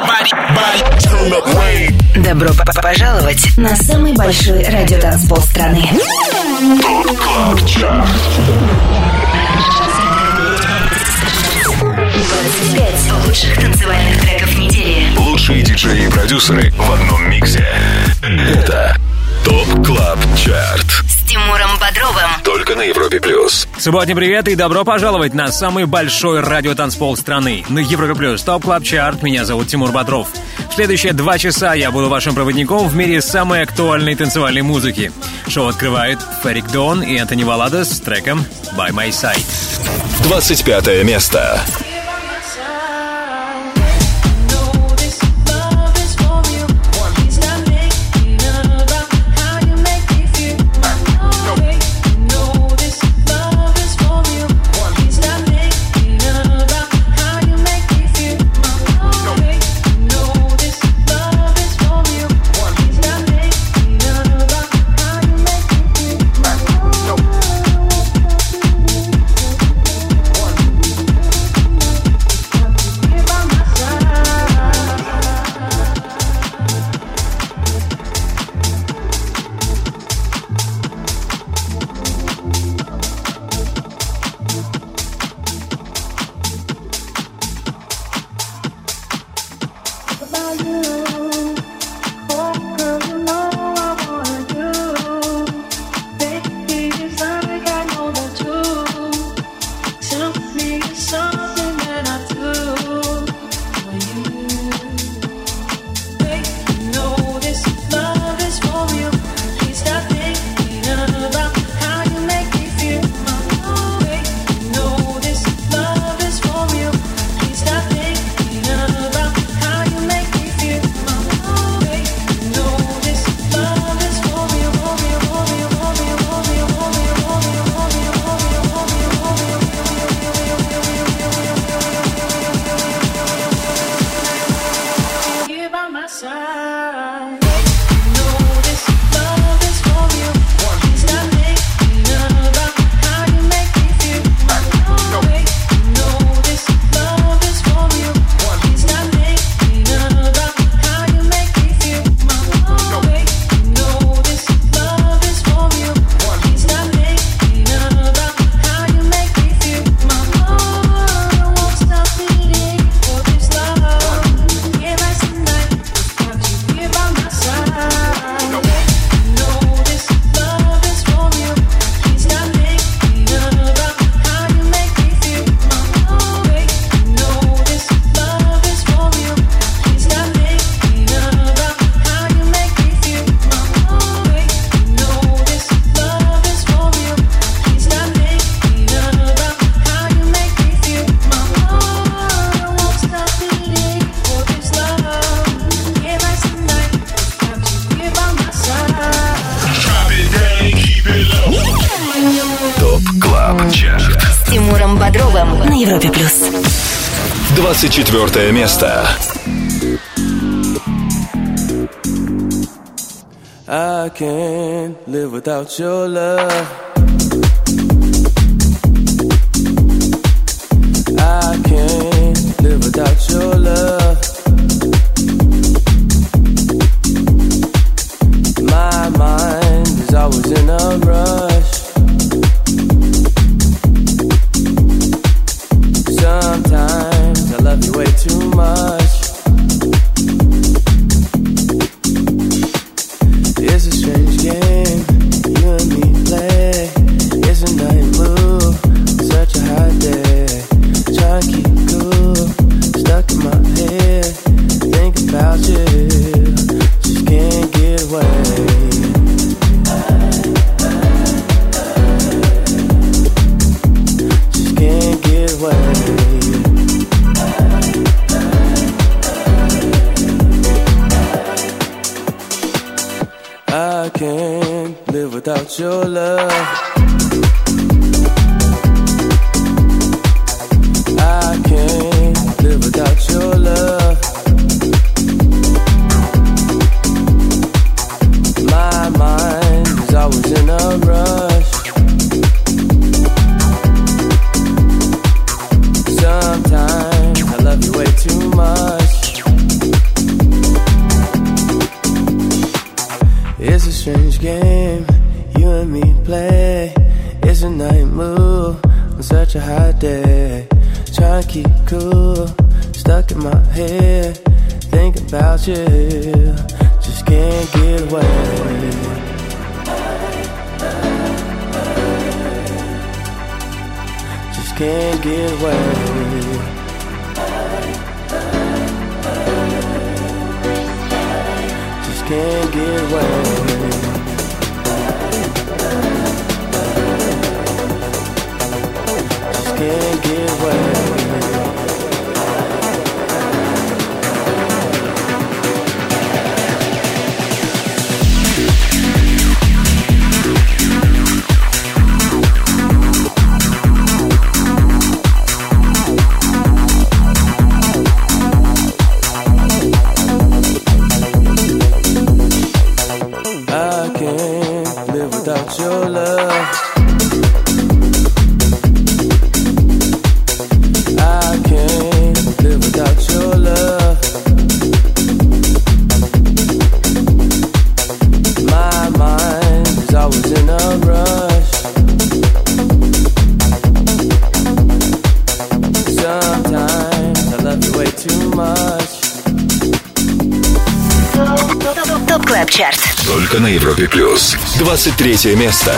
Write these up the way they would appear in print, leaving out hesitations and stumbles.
Добро пожаловать на самый большой радиотанцпол страны. ТОП КЛАБ ЧАРТ. 25 лучших танцевальных треков недели. Лучшие диджеи и продюсеры в одном миксе. Это ТОП КЛАБ ЧАРТ С Тимуром Бодровым. Только на Европе Плюс. Субботний привет и добро пожаловать на самый большой радиотанцпол страны. На Европе Плюс ТОП КЛАБ ЧАРТ. Меня зовут Тимур Бодров. В следующие 2 часа я буду вашим проводником в мире самой актуальной танцевальной музыки. Шоу открывает Ферик Дон и Антони Валадос с треком «By My Side». 25 место. С Тимуром Бодровым на Европе Плюс. 24 место. I can't live without your love. I can't live without your love. My mind is always in a rush. Sometimes I love you way too much. It's a strange game you and me play. It's a night move, such a hot day. Try to keep cool, stuck in my head. Think about you, just can't get away. Just can't get away. I can't live without your love. I can't live without your love. My mind is always in a rush. Sometimes I love you way too much. play. It's a night move on such a hot day. Trying to keep cool, stuck in my head, thinking about you, just can't get away. Just can't get away. Just can't get away. Just can't get away. Your love, I can't live without your love. My mind is always in a rush. Sometimes I love you way too much. ТОП КЛАБ ЧАРТ. Только на Европе Плюс. 23 место.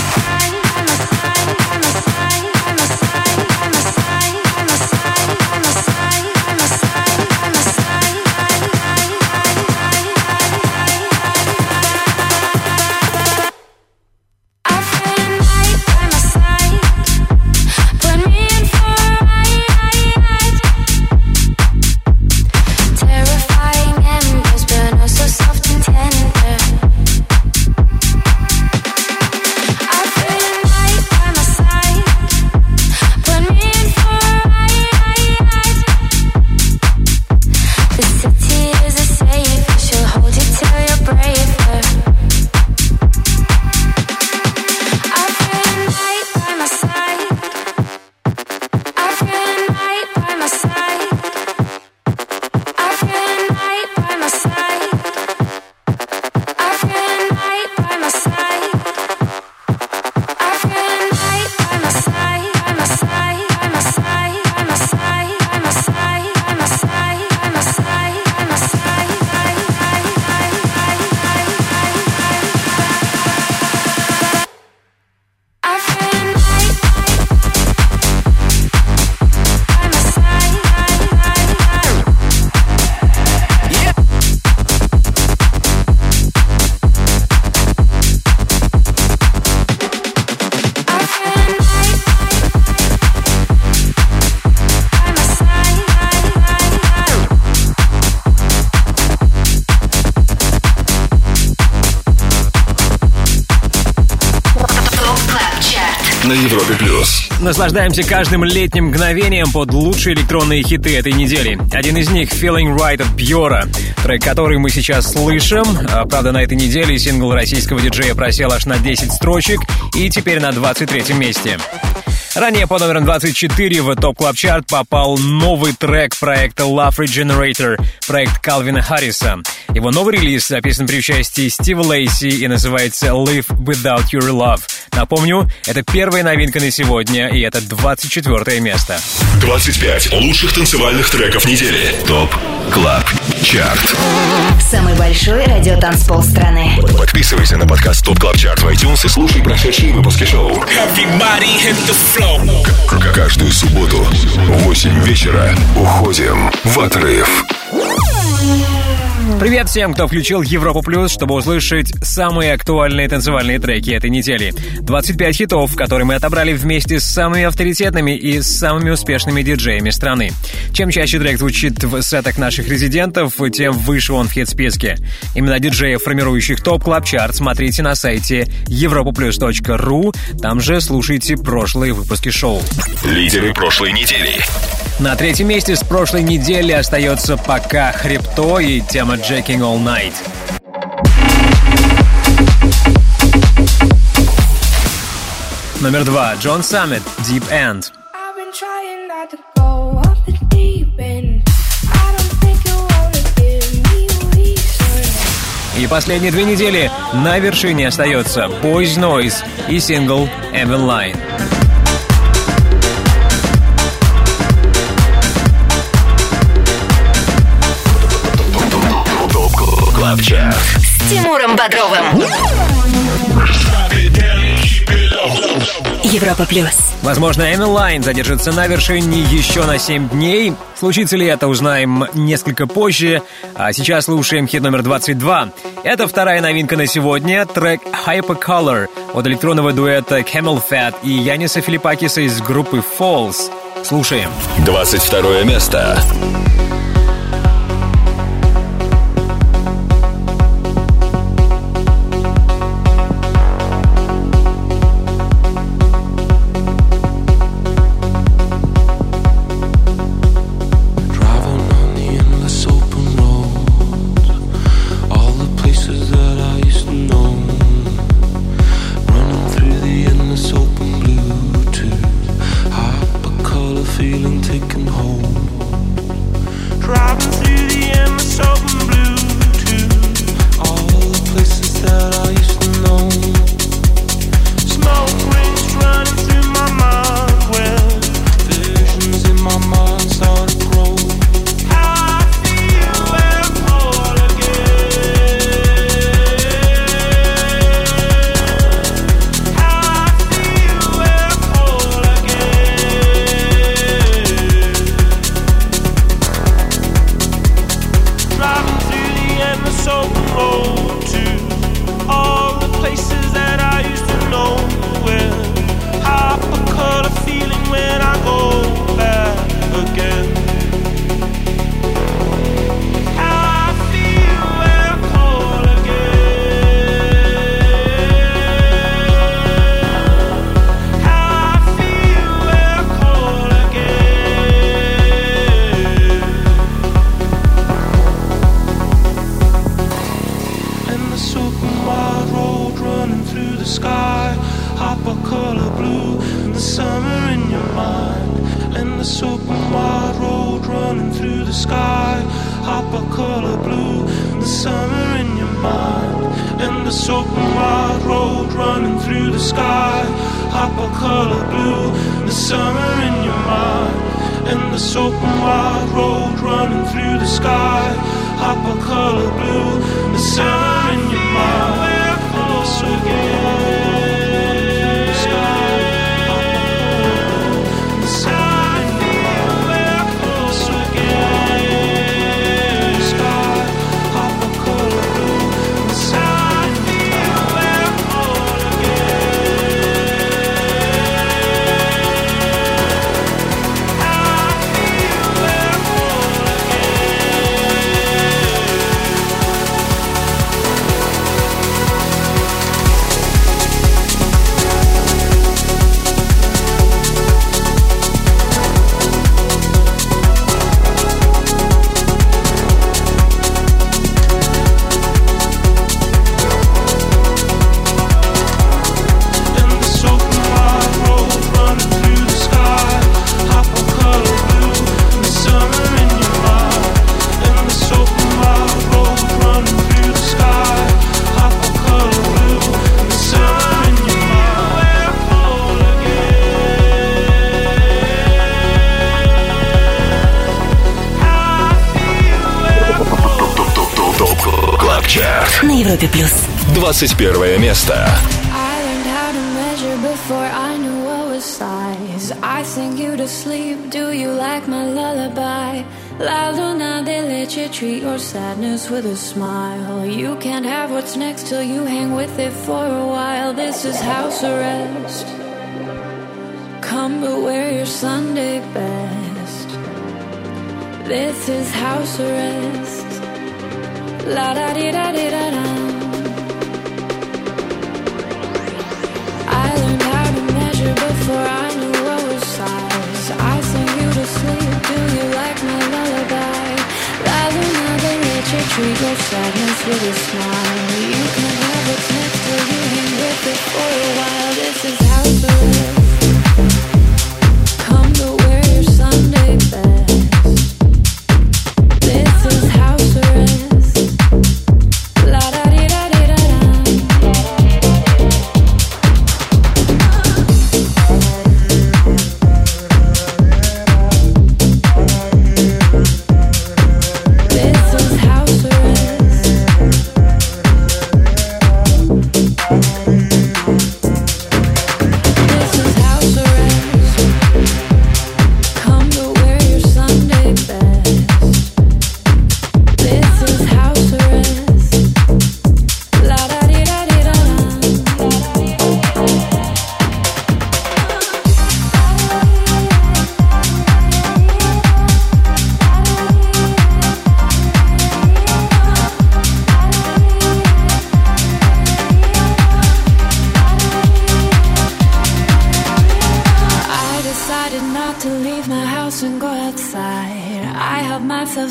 На Европе Плюс. Наслаждаемся каждым летним мгновением под лучшие электронные хиты этой недели. Один из них — Feeling Right от Bjora, трек, который мы сейчас слышим. Правда, на этой неделе сингл российского диджея просел аж на 10 строчек и теперь на 23-м месте. Ранее по номерам 24 в ТОП Клаб Чарт попал новый трек проекта Love Regenerator, проект Калвина Харриса. Его новый релиз записан при участии Стива Лейси и называется Live Without Your Love. Напомню, это первая новинка на сегодня, и это 24 место. 25 лучших танцевальных треков недели. ТОП Клаб Чарт. Самый большой радиотанцпол страны. Подписывайся на подкаст ТОП Клаб Чарт в iTunes и слушай прошедшие выпуски шоу. Каждую субботу в 8 вечера уходим в отрыв. Привет всем, кто включил Европу Плюс, чтобы услышать самые актуальные танцевальные треки этой недели. 25 хитов, которые мы отобрали вместе с самыми авторитетными и самыми успешными диджеями страны. Чем чаще трек звучит в сетах наших резидентов, тем выше он в хит-списке. Именно диджеев, формирующих ТОП Клаб Чарт, смотрите на сайте europaplus.ru. Там же слушайте прошлые выпуски шоу. Лидеры прошлой недели. На третьем месте с прошлой недели остается пока Хрипто и тема Jacking All Night. Номер 2. Джон Саммит, Deep End. И последние 2 недели на вершине остается Boys Noise и сингл Evan Line. С Тимуром Бодровым. Европа плюс. Возможно, Evan Line задержится на вершине еще на 7 дней. Случится ли это, узнаем несколько позже. А сейчас слушаем хит номер 22. Это вторая новинка на сегодня. Трек Hypercolor от электронного дуэта Camel Fat и Яниса Филиппакиса из группы Falls. Слушаем. 22 место. Feeling taken home. Чарт. На Европе плюс. 21 место. I sing you to sleep, do you like my lullaby? La Luna, they let you treat your sadness with a smile. You can't have what's next till you hang with it for a while. This is house arrest. Come but wear your Sunday best. This is house arrest. La da di da di da da. I learned how to measure before I knew what was size. I sing you to sleep, do you like my lullaby? La Luna, they let you treat your sadness with a smile. You can have what's next till you hang with it for a while. This is house arrest. Come to wear your Sunday best. This is house arrest. La da di da.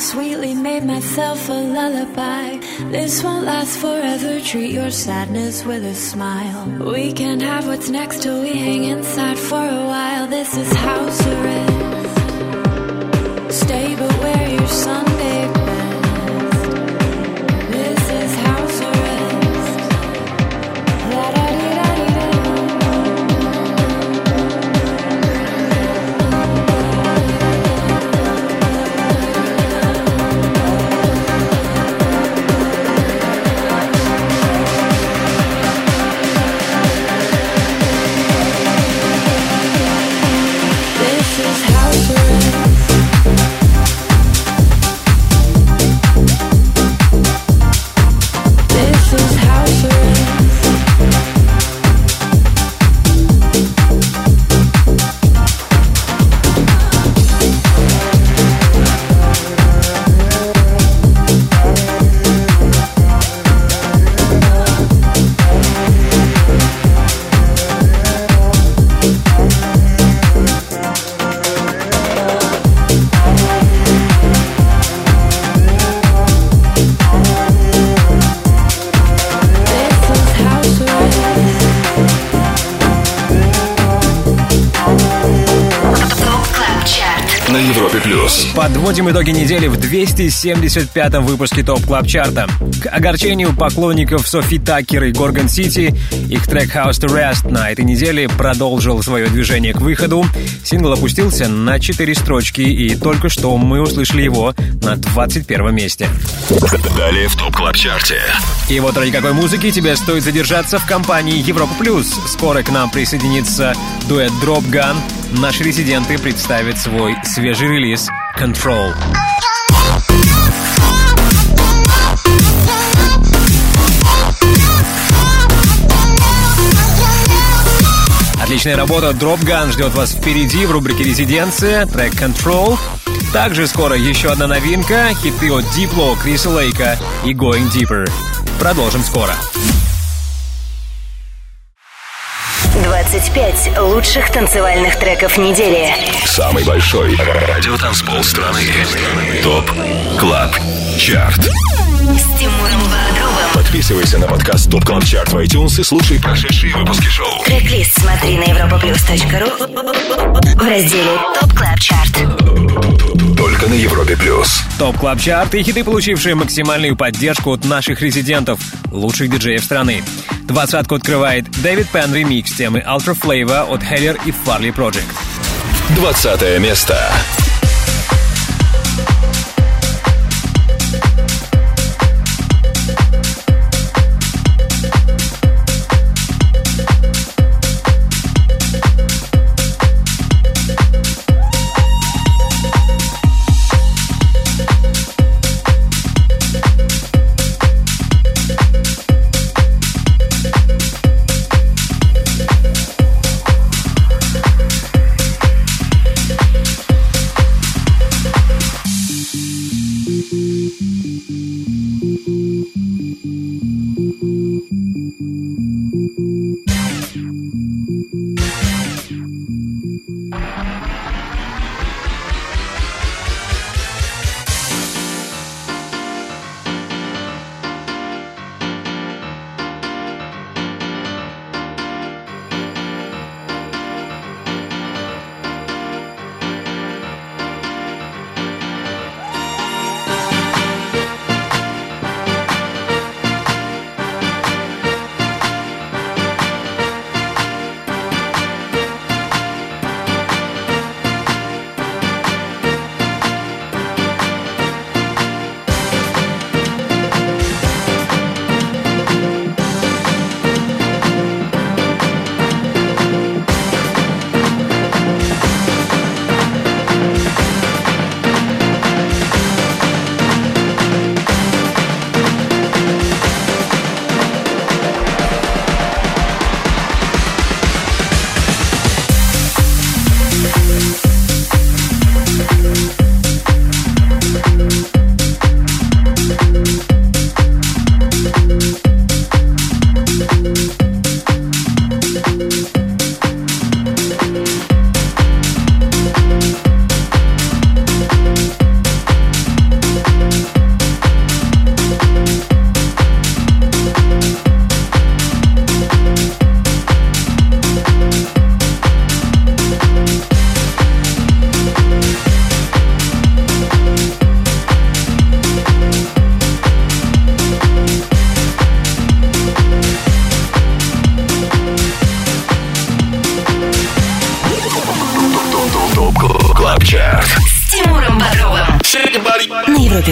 sweetly made myself a lullaby. This won't last forever, treat your sadness with a smile. We can't have what's next till we hang inside for a while. This is house arrest. Stay but wear your Sunday best. This is house arrest. La-da-dee-da-dee-da. This is house arrest. This is house arrest. На Европе плюс. Подводим итоги недели в 275-м выпуске ТОП Клаб Чарта. К огорчению поклонников Софи Таккер и Горгон Сити, их трек House Arrest на этой неделе продолжил свое движение к выходу. Сингл опустился на 4 строчки, и только что мы услышали его на 21-м месте. Далее в ТОП Клаб Чарте. И вот ради какой музыки тебе стоит задержаться в компании Европа Плюс. Скоро к нам присоединится дуэт Drop Gun. Наши резиденты представят свой свежий релиз «Control». Отличная работа Drop Gun ждет вас впереди в рубрике «Резиденция», трек «Control». Также скоро еще одна новинка, хиты от Diplo, Криса Лейка и Going Deeper. Продолжим скоро. 25 лучших танцевальных треков недели. Самый большой радиотанцпол страны. ТОП Клаб Чарт. С Тимуром Бодровым. Подписывайся на подкаст ТОП Клаб Чарт в iTunes и слушай прошедшие выпуски шоу. Трек-лист смотри на europaplus.ru в разделе ТОП Клаб Чарт. Только на Европе плюс. ТОП Клаб Чарт и хиты, получившие максимальную поддержку от наших резидентов, лучших диджеев страны. 20-ку открывает Дэвид Пен ремикс темы Ultra Flavor от Heller и Farley Project. 20 место.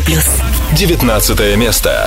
19 место.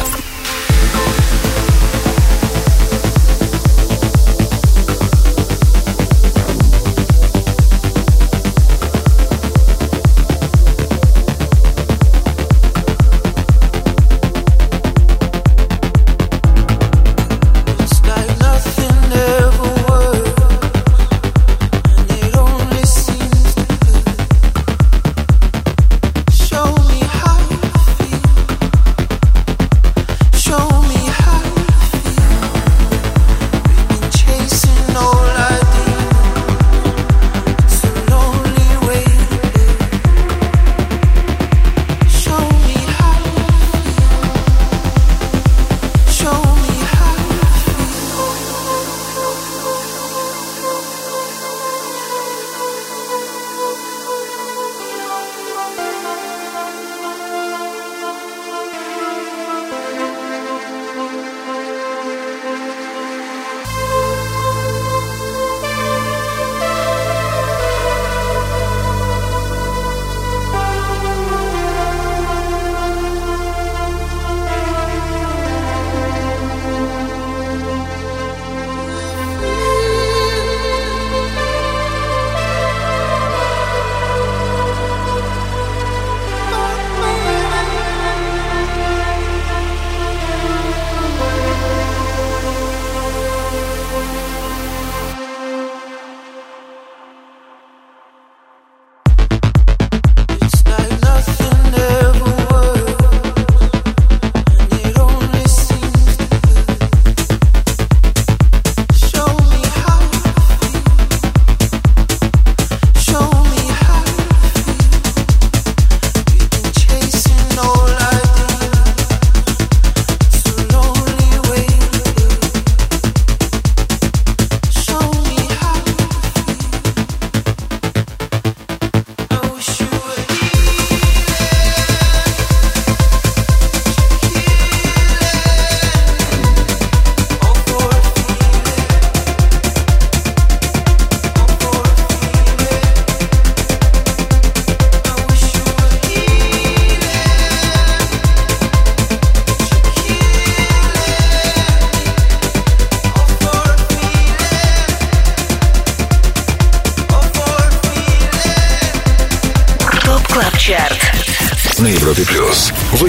На Европе Плюс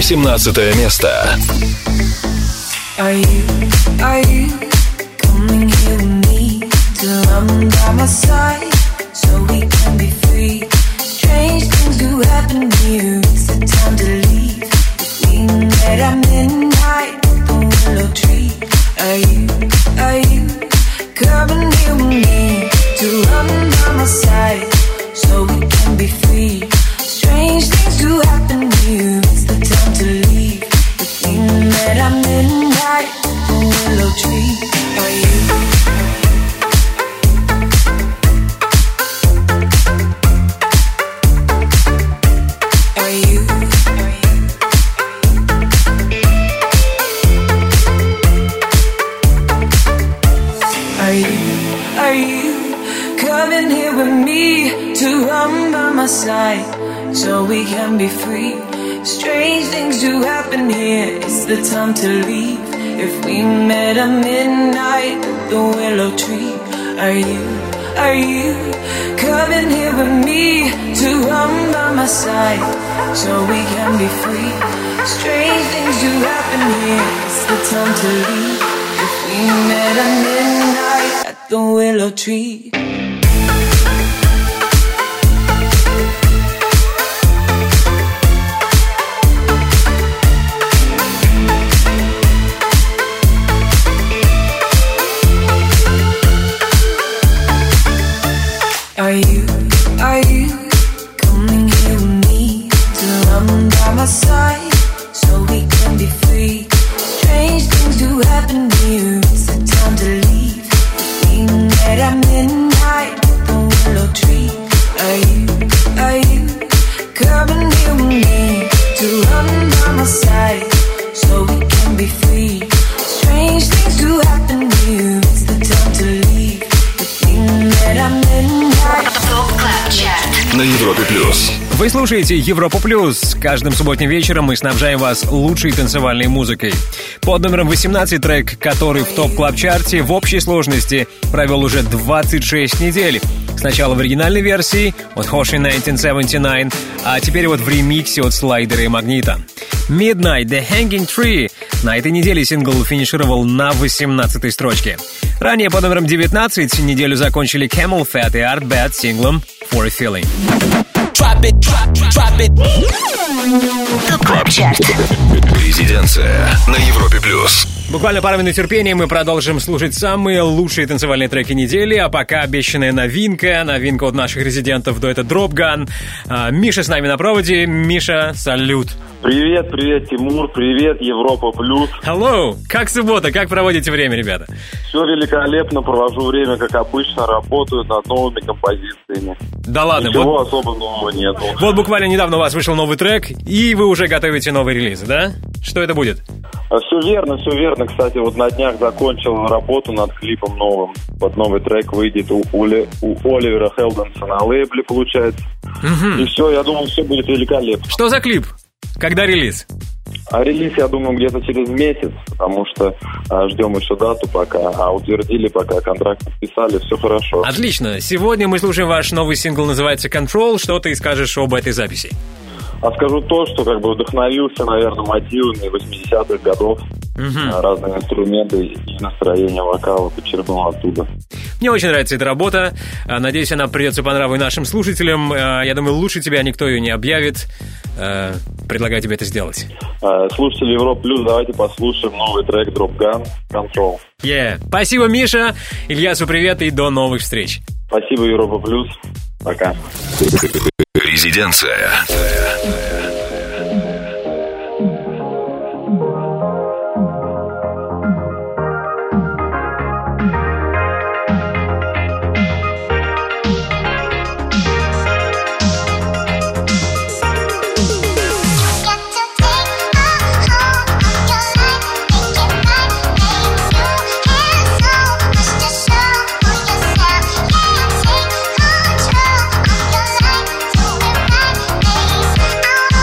18 место. Are you coming here with me till I'm by my side, so we can be free? Strange things do happen here. It's the time to leave. If we met at midnight, the willow tree. Are you coming here with me till I'm by my side, so we can be free? Strange things do happen here. It's the time to leave. If we met at midnight, the willow tree. Are you? Are you coming here with me to run by my side, so we can be free? Strange things do happen here. It's the time to leave. If we met at midnight at the willow tree. Are you coming here with me to run by my side, so we can be free? Strange things do happen here. It's the time to leave. If we met at midnight at the willow tree. Are you coming here with me till I'm by my side, so we can be free? Strange things do happen here. It's the time to leave. We met at midnight. слушаете Европа Плюс. Каждым субботним вечером мы снабжаем вас лучшей танцевальной музыкой. Под номером 18 трек, который в топ-клаб-чарте в общей сложности провел уже 26 недель. Сначала в оригинальной версии от Hoshi 1979, а теперь вот в ремиксе от Слайдера и Магнита. Midnight, The Hanging Tree. На этой неделе сингл финишировал на 18-й строчке. Ранее под номером 19 неделю закончили Camel Fat и Art Bad с синглом For a Feeling. ТОП-клаб-чарт. Резиденция на Европе Плюс. Буквально пару минут терпения, мы продолжим слушать самые лучшие танцевальные треки недели, а пока обещанная новинка от наших резидентов дуэта Drop Gun. Миша с нами на проводе. Миша, салют. Привет, Тимур, привет, Европа Плюс. Hello, как суббота, как проводите время, ребята? Все великолепно, провожу время, как обычно, работаю над новыми композициями. Да ладно, ничего особо нового нету. Вот буквально недавно у вас вышел новый трек, и вы уже готовите новый релиз, да? Что это будет? Все верно. Кстати, вот на днях закончил работу над клипом новым. Вот новый трек выйдет у Оливера Хелденса на лейбле, получается. Угу. И все, я думаю, все будет великолепно. Что за клип? Когда релиз? А релиз, я думаю, где-то через месяц, потому что ждем еще дату пока, а утвердили пока, контракт подписали, все хорошо. Отлично. Сегодня мы слушаем ваш новый сингл, называется «Control». Что ты скажешь об этой записи? А скажу то, что как бы вдохновился, наверное, мотивами 80-х годов. Разные инструменты и настроение вокала подчеркнул оттуда. Мне очень нравится эта работа. Надеюсь, она придется по нраву и нашим слушателям. Я думаю, лучше тебя никто ее не объявит. Предлагаю тебе это сделать. Слушатели Европа Плюс, давайте послушаем новый трек Drop Gun Control. Спасибо, Миша. Ильясу привет и до новых встреч. Спасибо, Европа Плюс. Пока. Резиденция. Control of your life to remind me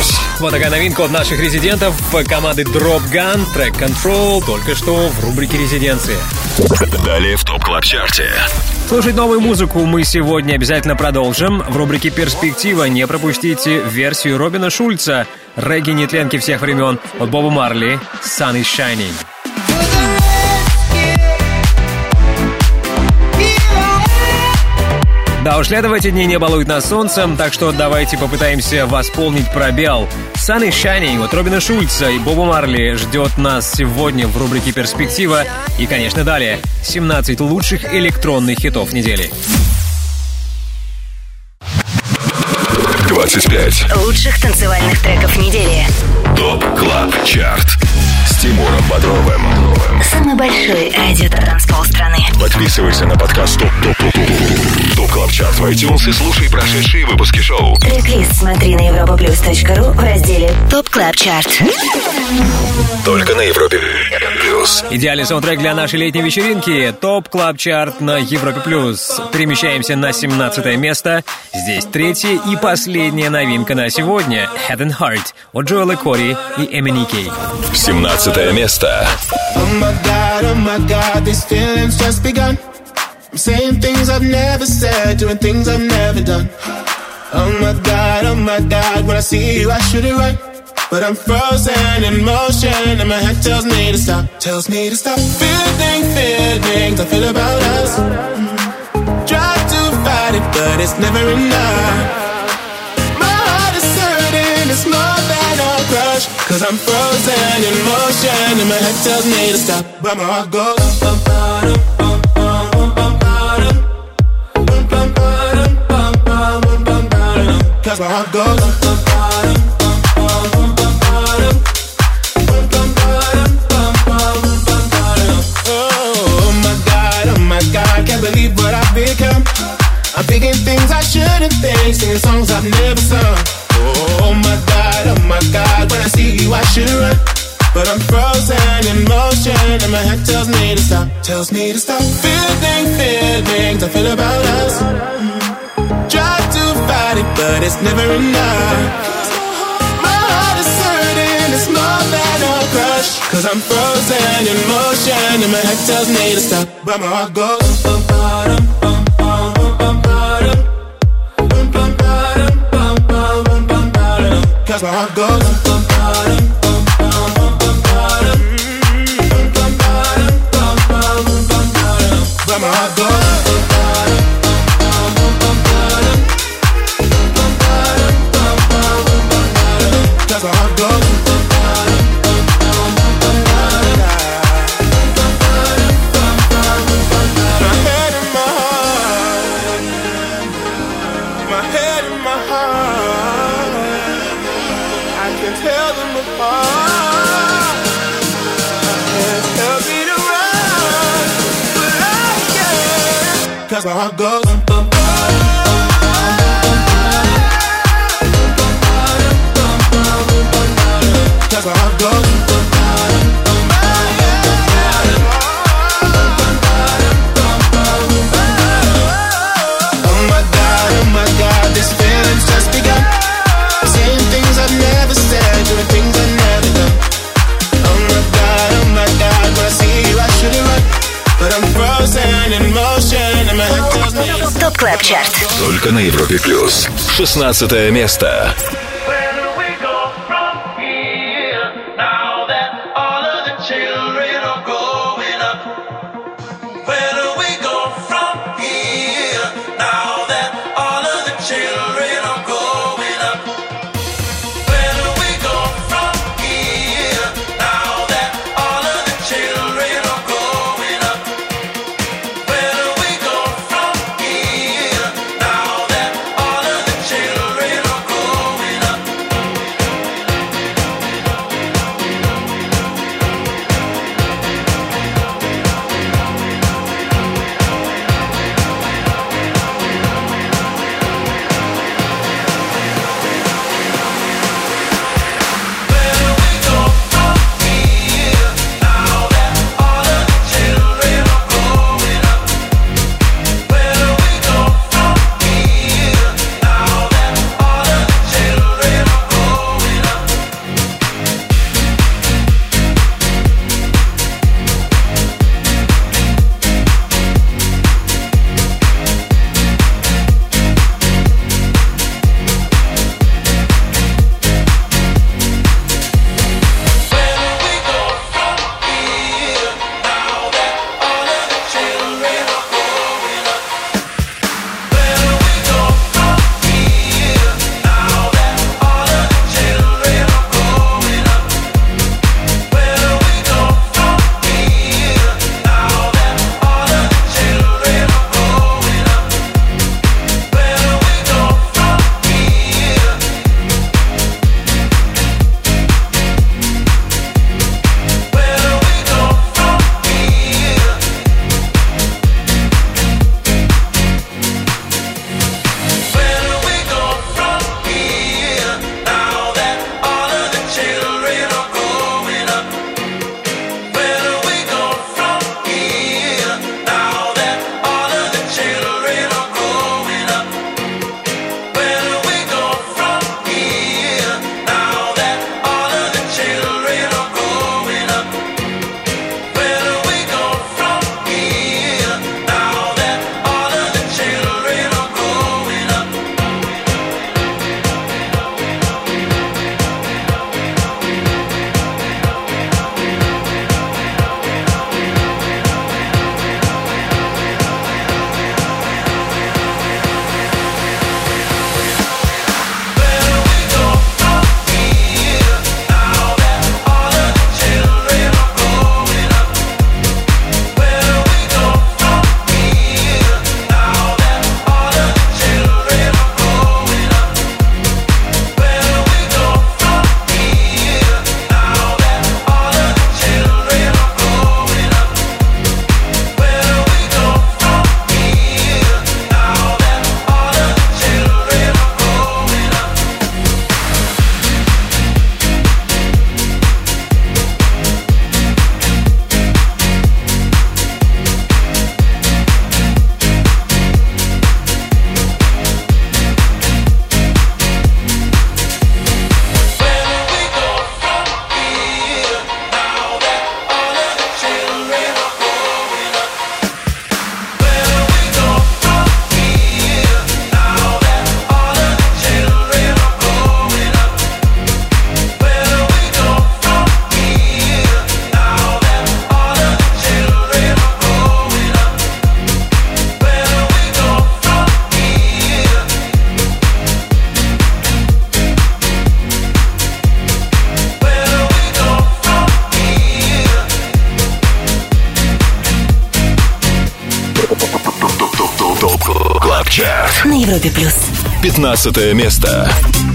Вот такая новинка от наших резидентов команды Drop Gun, трек Control, только что в рубрике «Резиденции». Далее в ТОП Клаб Чарте. Слушать новую музыку мы сегодня обязательно продолжим. В рубрике «Перспектива» не пропустите версию Робина Шульца, регги-нетленки всех времен от Боба Марли «Sun is Shining». Да уж, лето в эти дни не балует нас солнцем, так что давайте попытаемся восполнить пробел. Sun is Shining от Робина Шульца и Боба Марли ждет нас сегодня в рубрике «Перспектива». И, конечно, далее 17 лучших электронных хитов недели. 25 лучших танцевальных треков недели. ТОП Клаб Чарт с Тимуром Бодровым. Самый большой радиотанцпол страны. Подписывайся на подкаст ТОП Клаб Чарт в iTunes и слушай прошедшие выпуски шоу. Трек-лист смотри на europaplus.ru в разделе ТОП Клаб Чарт. Только на Европе Плюс. Идеальный саундтрек для нашей летней вечеринки. ТОП Клаб Чарт на Европе Плюс. Перемещаемся на 17 место. Здесь третья и последняя новинка на сегодня. Head and Heart от Джоэла Кори и Эминики. 17 место. Oh my God, these feelings just begun. I'm saying things I've never said, doing things I've never done. Oh my God, when I see you I should it right. But I'm frozen in motion and my head tells me to stop. Feelings I feel about us. Try to fight it, but it's never enough. My heart is hurting, it's more than a crush. Cause I'm frozen in motion and my head tells me to stop. But my heart goes cause my heart goes oh my God, can't believe what I've become. I'm thinking things I shouldn't think, singing songs I've never sung. Oh my God, when I see you I should run. But I'm frozen in motion and my head tells me to stop. Feelings I feel about us. Try to fight it, but it's never enough. My heart is hurting, it's more than a crush. Cause I'm frozen in motion and my head tells me to stop. But my heart goes cause my heart goes but my heart goes cause my heart goes my head and my heart, my head and my heart, I can tell them apart. I can't help me to run, but I can. Cause my heart goes cause my heart goes oh my God, these feelings just begun. Saying things I've never said, doing things I've never done. Oh my God, when I see you I should it right. But I'm frozen in motion and my head tells me. ТОП Клаб Чарт. Только на Европе Плюс. 16 место. Чарт на Европе плюс. 15 место.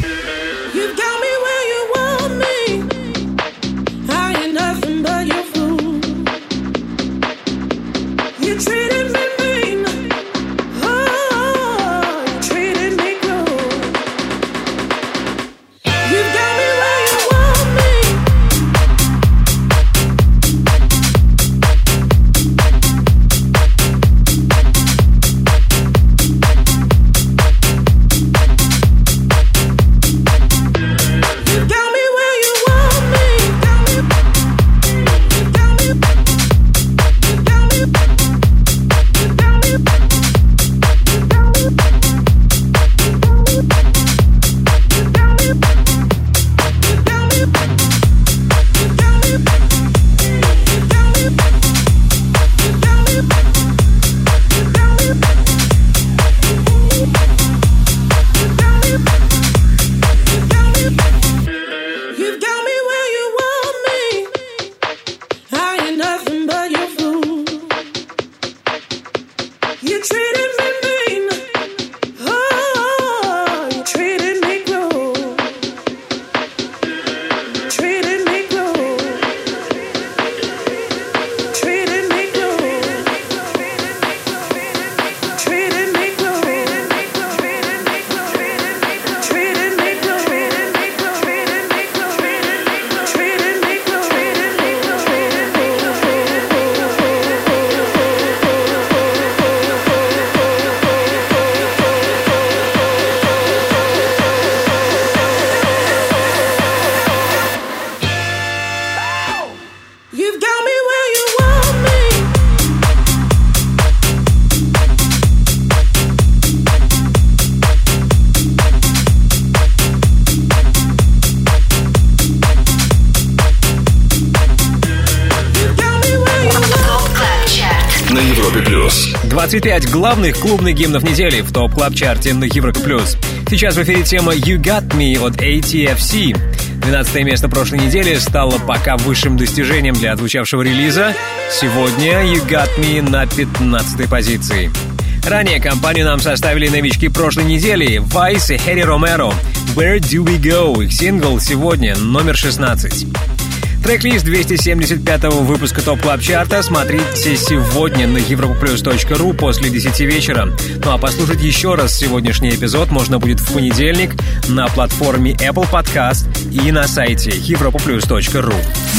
На Европе плюс. 25 главных клубных гимнов недели в ТОП Клаб Чарте на Европе плюс. Сейчас в эфире тема You Got Me от ATFC. 12 место прошлой недели стало пока высшим достижением для отзвучавшего релиза. Сегодня You Got Me на 15 позиции. Ранее компанию нам составили новички прошлой недели Vice и Хэри Ромеро. Where Do We Go? Их сингл сегодня номер 16. Трек-лист 275-го выпуска ТОП Клаб Чарта смотрите сегодня на europaplus.ru после 10 вечера. Ну а послушать еще раз сегодняшний эпизод можно будет в понедельник на платформе Apple Podcast и на сайте europaplus.ru.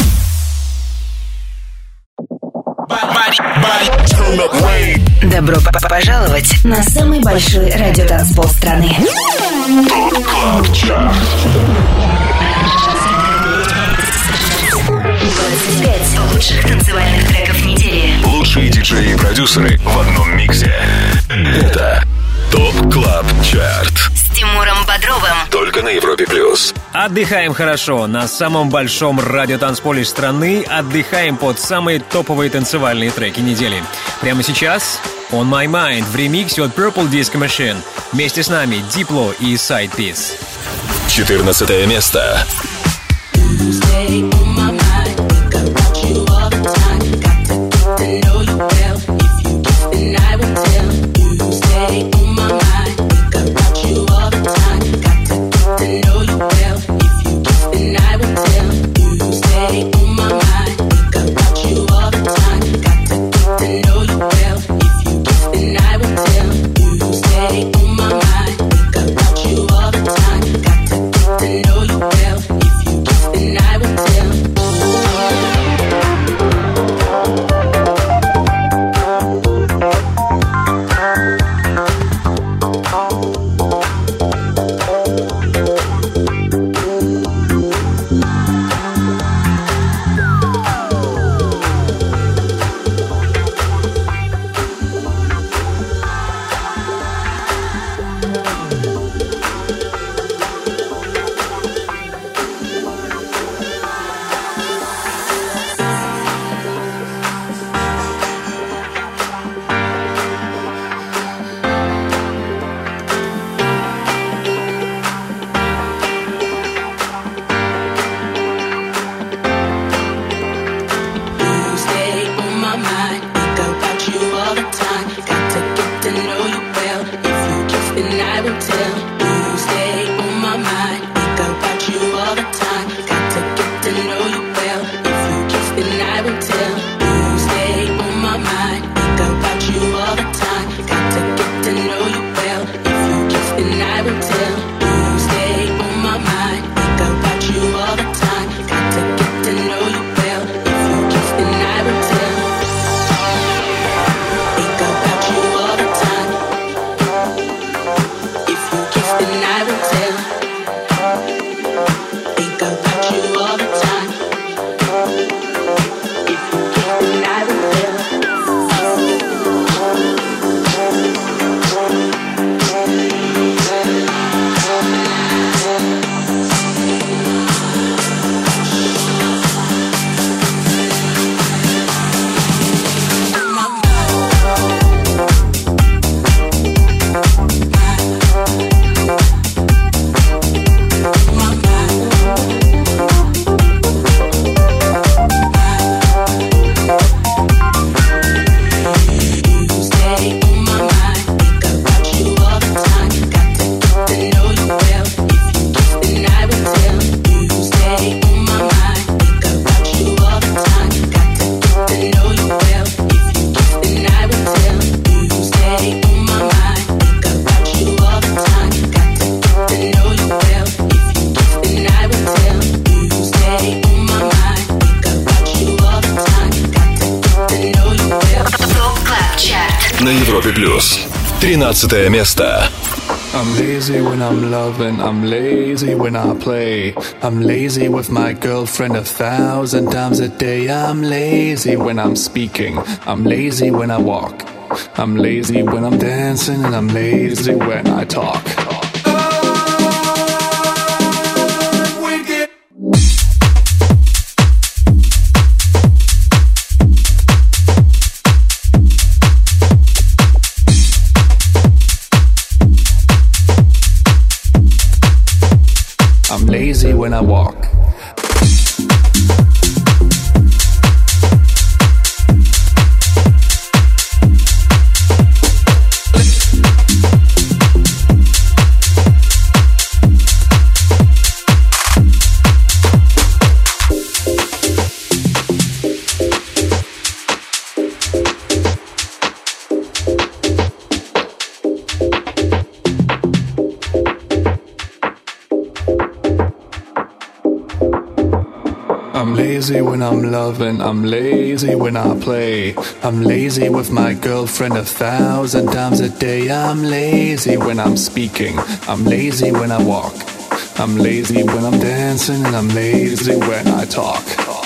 Добро пожаловать на самый большой радиотанцпол страны. ТОП Клаб Чарт. 25 лучших танцевальных треков недели. Лучшие диджеи и продюсеры в одном миксе. Это ТОП Клаб Чарт. С Тимуром Бодровым. Только на Европе плюс. Отдыхаем хорошо на самом большом радиотанцполе страны. Отдыхаем под самые топовые танцевальные треки недели. Прямо сейчас On My Mind в ремиксе от Purple Disco Machine. Вместе с нами Diplo и Side Piece. 14 место. Stay on my mind, think about you all the time. Got to get to know you well. If you give, then I will tell. You stay on my mind, think about you all the time. Got to get to know you well. If you give, then I will tell. You stay on my mind, think about you all the time. Got to get to know you well. If you give, then I will tell. You stay on my mind, think about you all the time. Got to get to know you well. If you give, then I will tell. Европе+. 13 место. I'm lazy when I'm loving, I'm lazy when I play. I'm lazy with my girlfriend 1,000 times a day. I'm lazy when I'm speaking, I'm lazy when I walk. I'm lazy when I'm dancing and I'm lazy when I talk. I'm lazy when I walk. I'm lazy when I'm loving, I'm lazy when I play. I'm lazy with my girlfriend 1,000 times a day. I'm lazy when I'm speaking, I'm lazy when I walk. I'm lazy when I'm dancing and I'm lazy when I talk.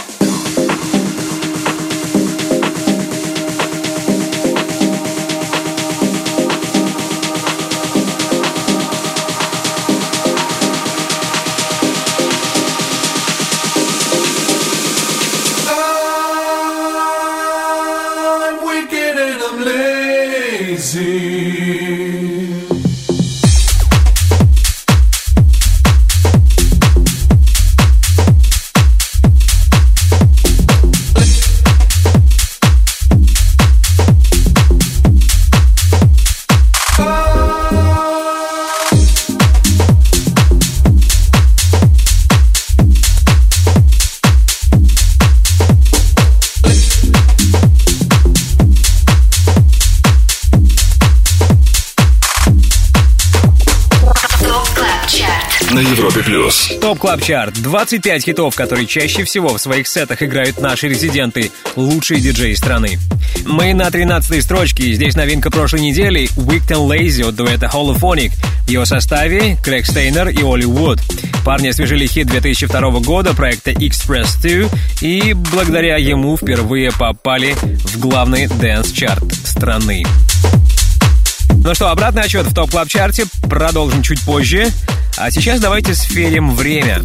На Европе Плюс. ТОП Клаб Чарт. 25 хитов, которые чаще всего в своих сетах играют наши резиденты, лучшие диджеи страны. Мы на 13-й строчке, и здесь новинка прошлой недели Wicked and Lazy от дуэта Holophonic. В его составе Крэг Стейнер и Оли Вуд. Парни освежили хит 2002 года проекта Express 2, и благодаря ему впервые попали в главный дэнс-чарт страны. Ну что, обратный отчет в ТОП Клаб Чарте продолжим чуть позже. А сейчас давайте сферим время.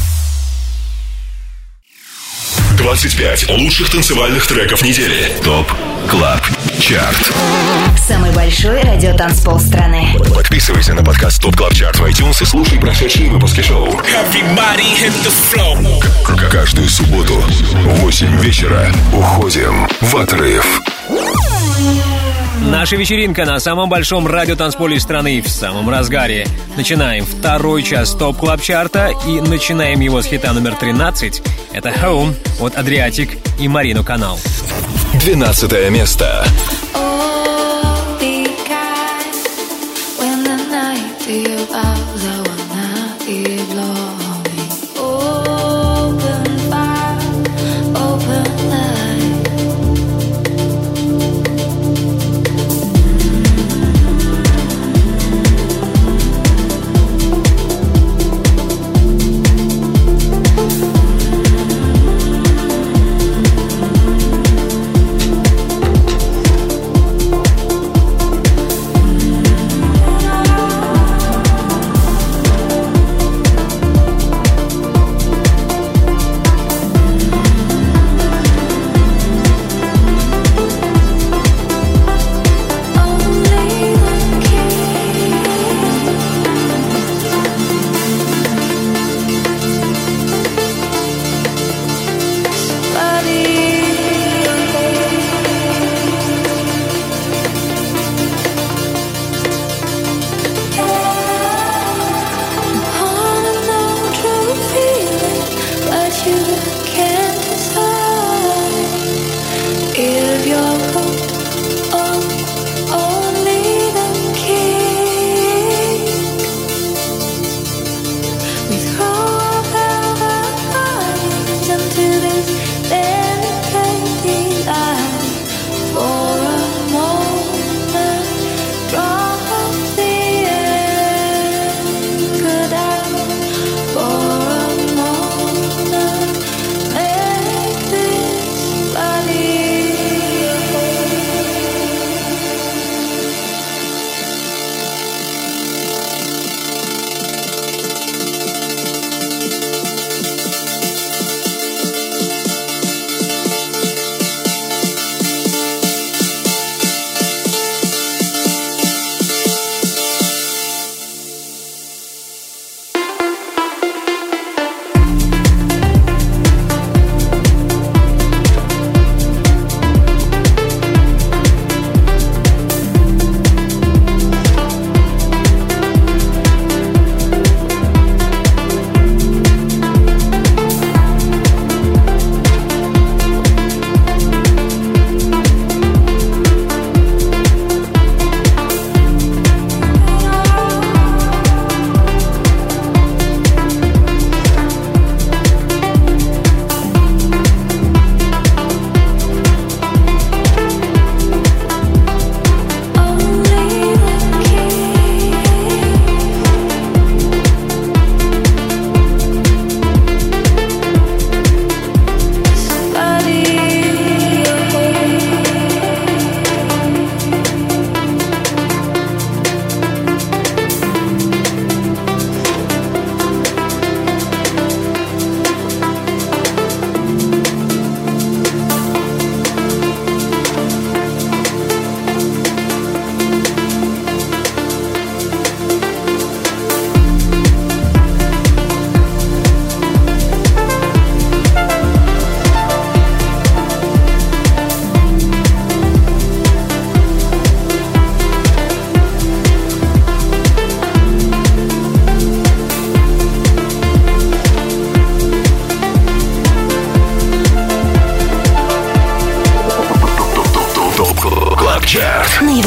25 лучших танцевальных треков недели. ТОП Клаб Чарт. Самый большой радиотанцпол страны. Подписывайся на подкаст ТОП Клаб Чарт в iTunes и слушай прошедшие выпуски шоу. Каждую субботу в 8 вечера уходим в отрыв. Наша вечеринка на самом большом радиотанцполе страны в самом разгаре. Начинаем второй час ТОП Клаб Чарта и начинаем его с хита номер 13. Это Home от Adriatic и Марину Канал. 12 место.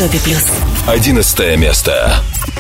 Европе плюс. 11 место.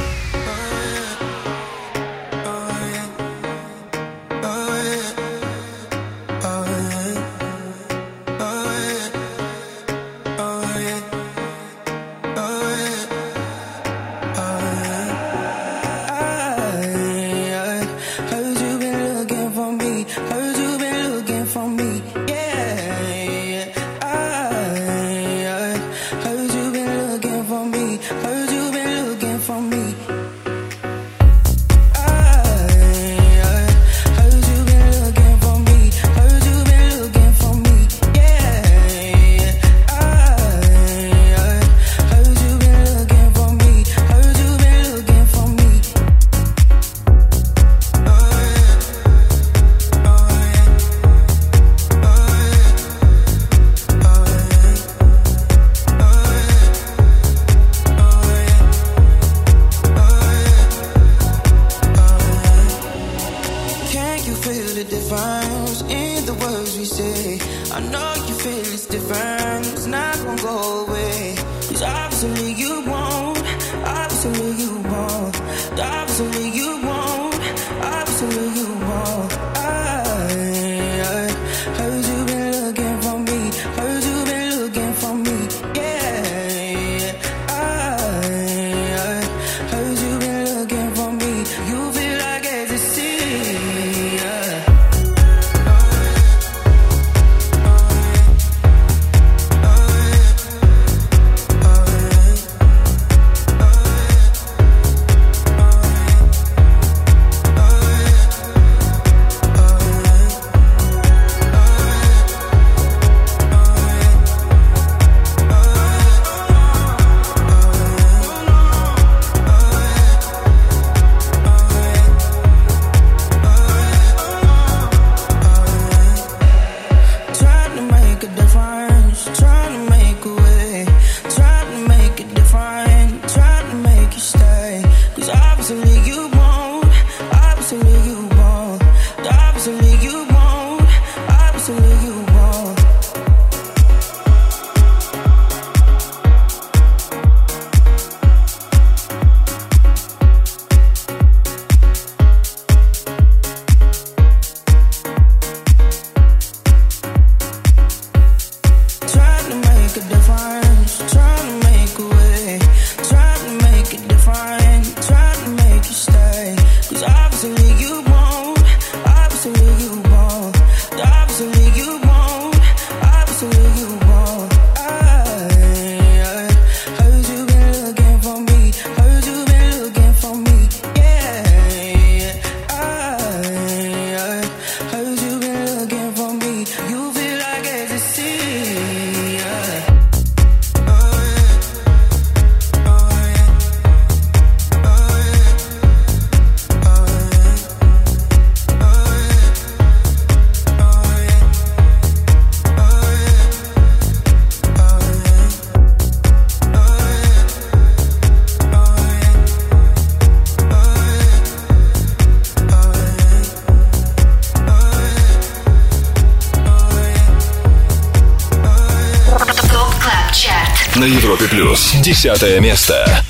На Европе плюс 10 место.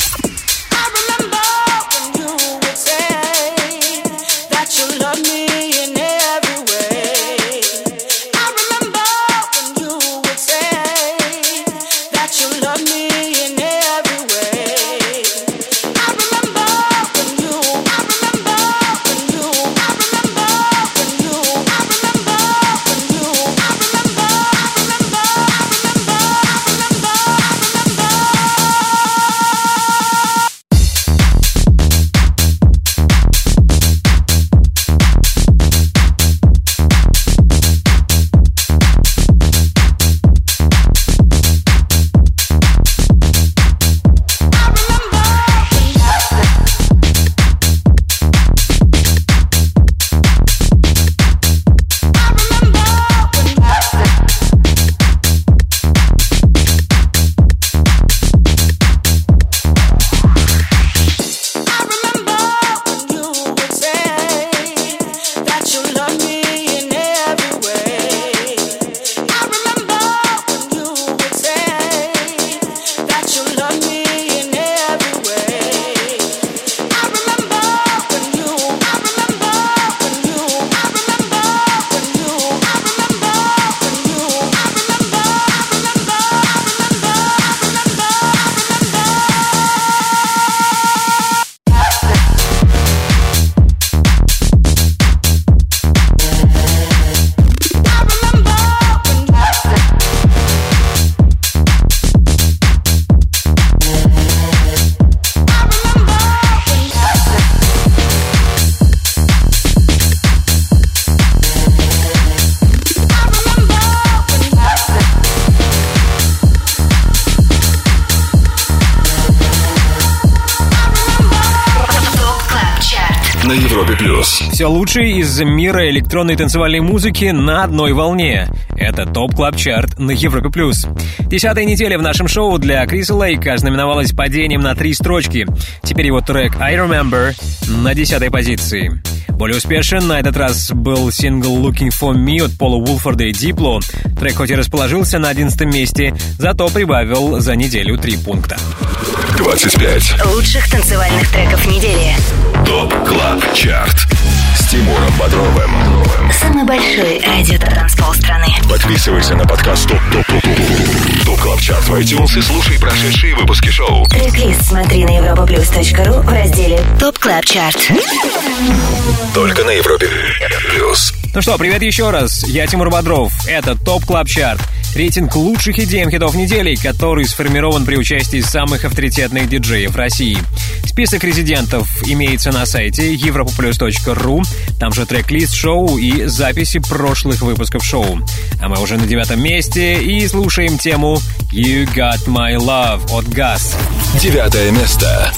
на Европе+. Все лучшее из мира электронной танцевальной музыки на одной волне. Это ТОП Клаб Чарт на Европе+. 10-я неделя в нашем шоу для Криса Лейка знаменовалась падением на 3 строчки. Теперь его трек «I Remember» на 10-й позиции. Более успешен на этот раз был сингл «Looking for Me» от Пола Уолфорда и Дипло. Трек хоть и расположился на 11-м месте, зато прибавил за неделю 3 пункта. 25 лучших танцевальных треков недели. ТОП Клаб Чарт с Тимуром Бодровым. Самый большой радио-транспол страны. Подписывайся на подкаст ТОП Клаб Чарт в iTunes и слушай прошедшие выпуски шоу. Трек-лист смотри на europaplus.ru в разделе ТОП Клаб Чарт. Только на Европе+. Ну что, привет еще раз. Я Тимур Бодров. Это ТОП Клаб Чарт. Рейтинг лучших EDM-хитов недели, который сформирован при участии самых авторитетных диджеев России. Список резидентов имеется на сайте europaplus.ru. Там же трек-лист шоу и записи прошлых выпусков шоу. А мы уже на 9-м месте и слушаем тему «You Got My Love» от Gus. 9-е место.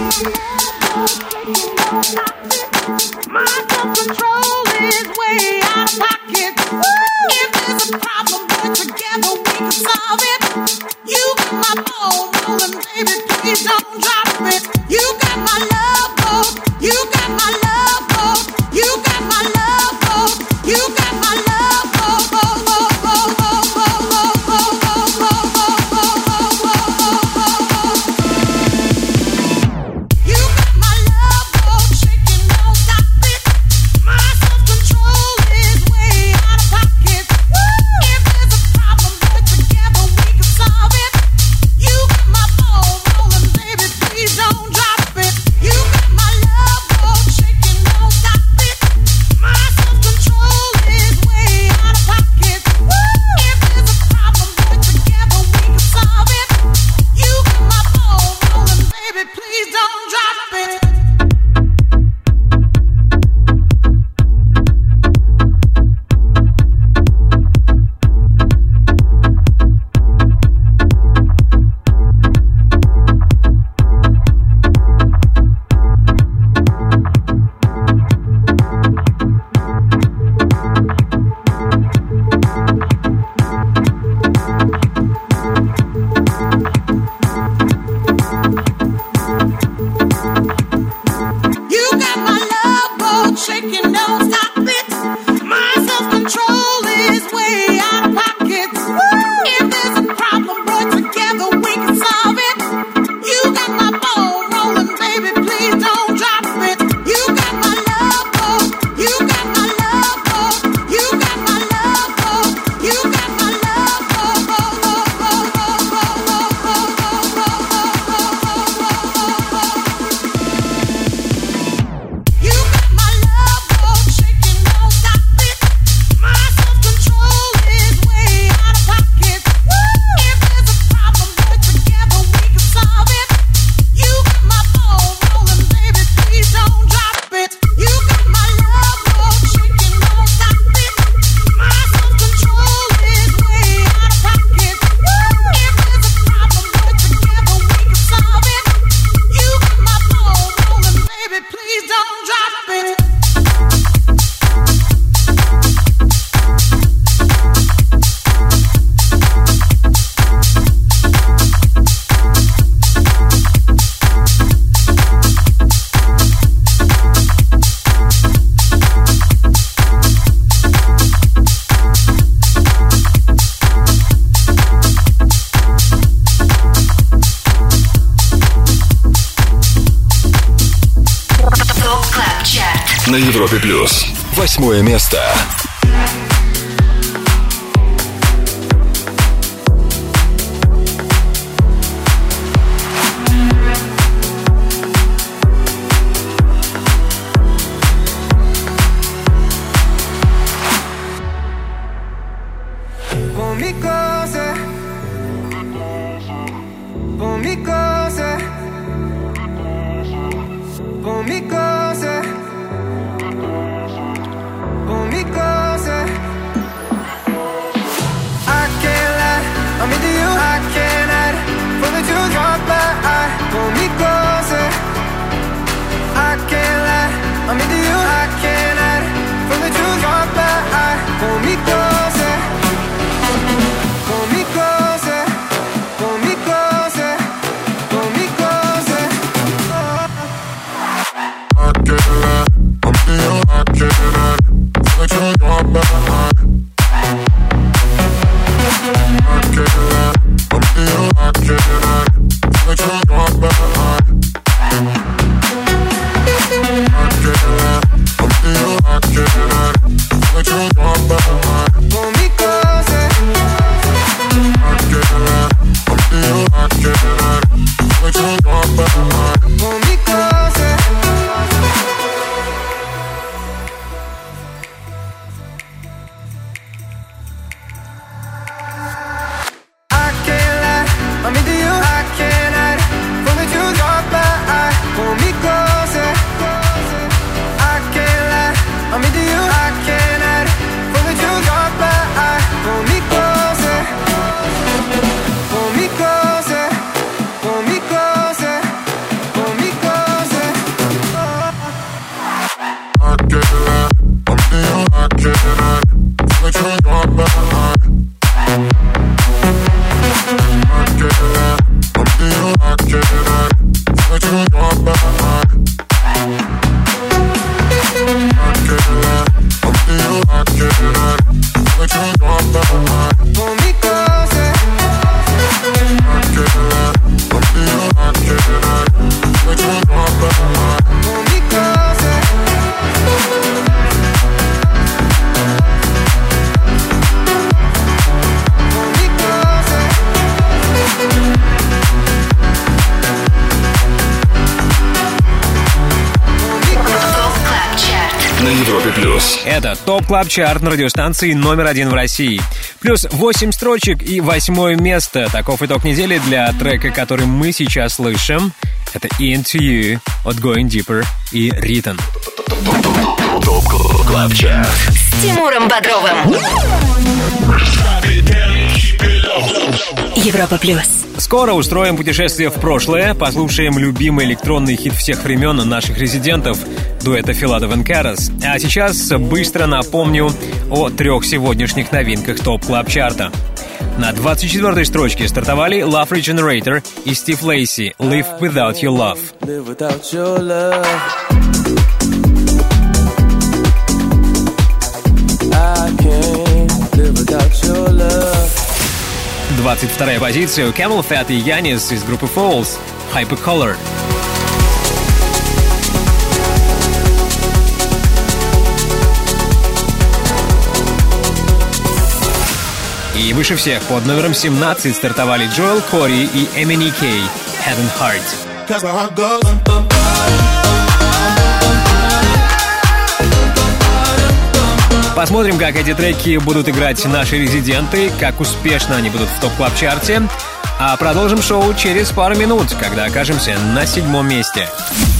My self-control is way out of pocket. If there's a problem, but together we can solve it. You got my ball rolling, baby, please don't drop it. You got my love boat. You got my love boat. You got my love boat. You got my love boat. На Европе+. 8-е место. Por mi cosa, на Европе+. Это ТОП Клаб Чарт на радиостанции номер 1 в России. Плюс 8 строчек и 8 место. Таков итог недели для трека, который мы сейчас слышим. Это Into You от Going Deeper и Ритон. ТОП Клаб Чарт С Тимуром Бодровым. Европа плюс. Скоро устроим путешествие в прошлое, послушаем любимый электронный хит всех времен наших резидентов, дуэта Филадов и Карас. А сейчас быстро напомню о 3 сегодняшних новинках ТОП Клаб Чарта. На 24-й строчке стартовали Love Regenerator и Стив Лейси «Live Without Your Love». Live without your love. I can't live without your love. 22-я позиция Camel Fat и Янис из группы Falls «Hypercolor». И выше всех под номером 17 стартовали Джоэл Кори и Эмини Кей «Head and Heart». Посмотрим, как эти треки будут играть наши резиденты, как успешно они будут в ТОП-клаб-чарте. А продолжим шоу через пару минут, когда окажемся на 7-м месте.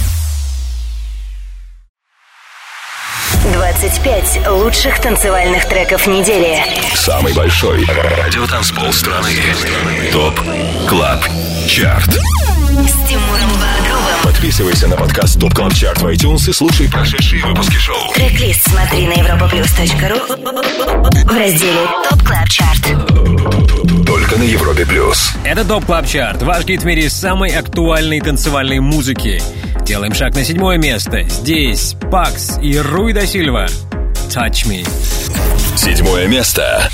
25 лучших танцевальных треков недели. Самый большой радиотанцпол страны. ТОП Клаб Чарт. С Тимуром Бодровым. Подписывайся на подкаст ТОП Клаб Чарт в iTunes и слушай прошедшие выпуски шоу. Трек-лист смотри на europaplus.ru в разделе ТОП Клаб Чарт. Только на Европе плюс. Это ТОП Клаб Чарт, ваш гид в мире самой актуальной танцевальной музыки. Делаем шаг на 7-е место. Здесь Пакс и Руй да Сильва. Touch Me. 7-е место.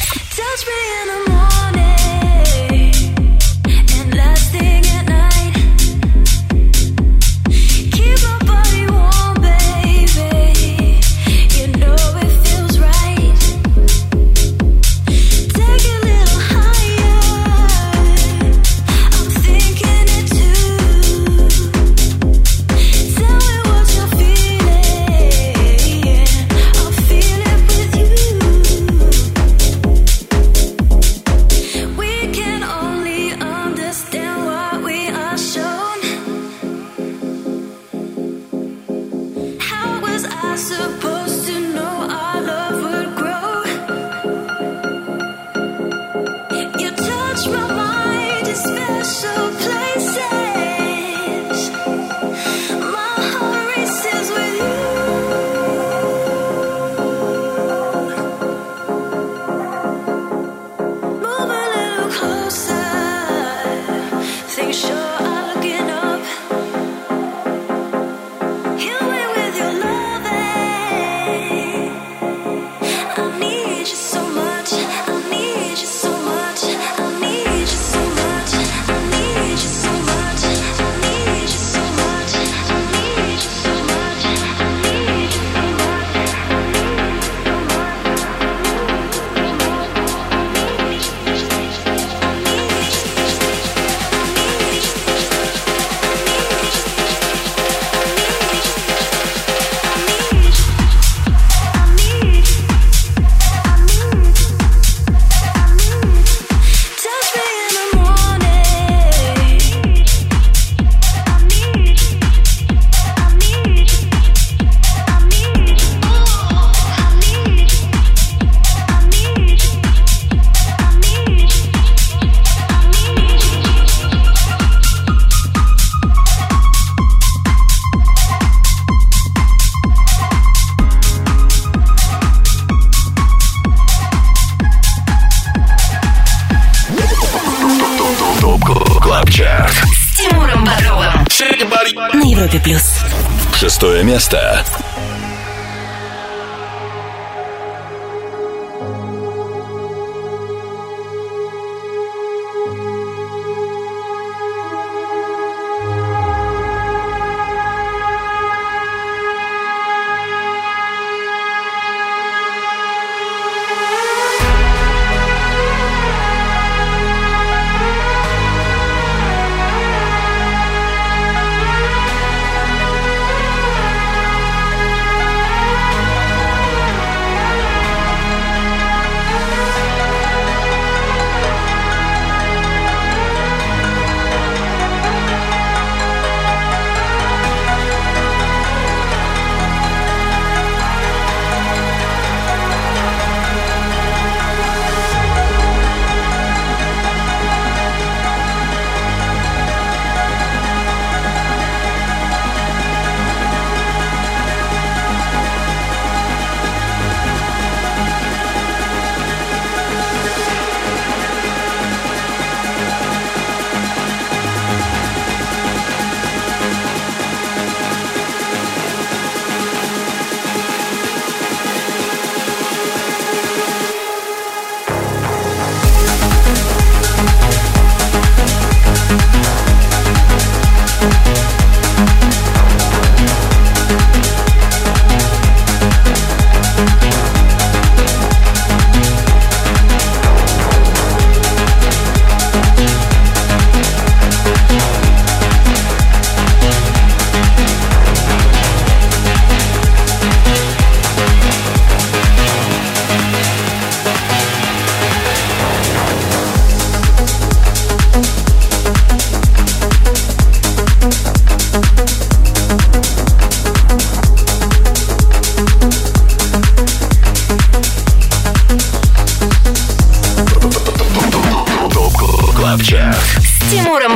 На Европе плюс. 6-е место.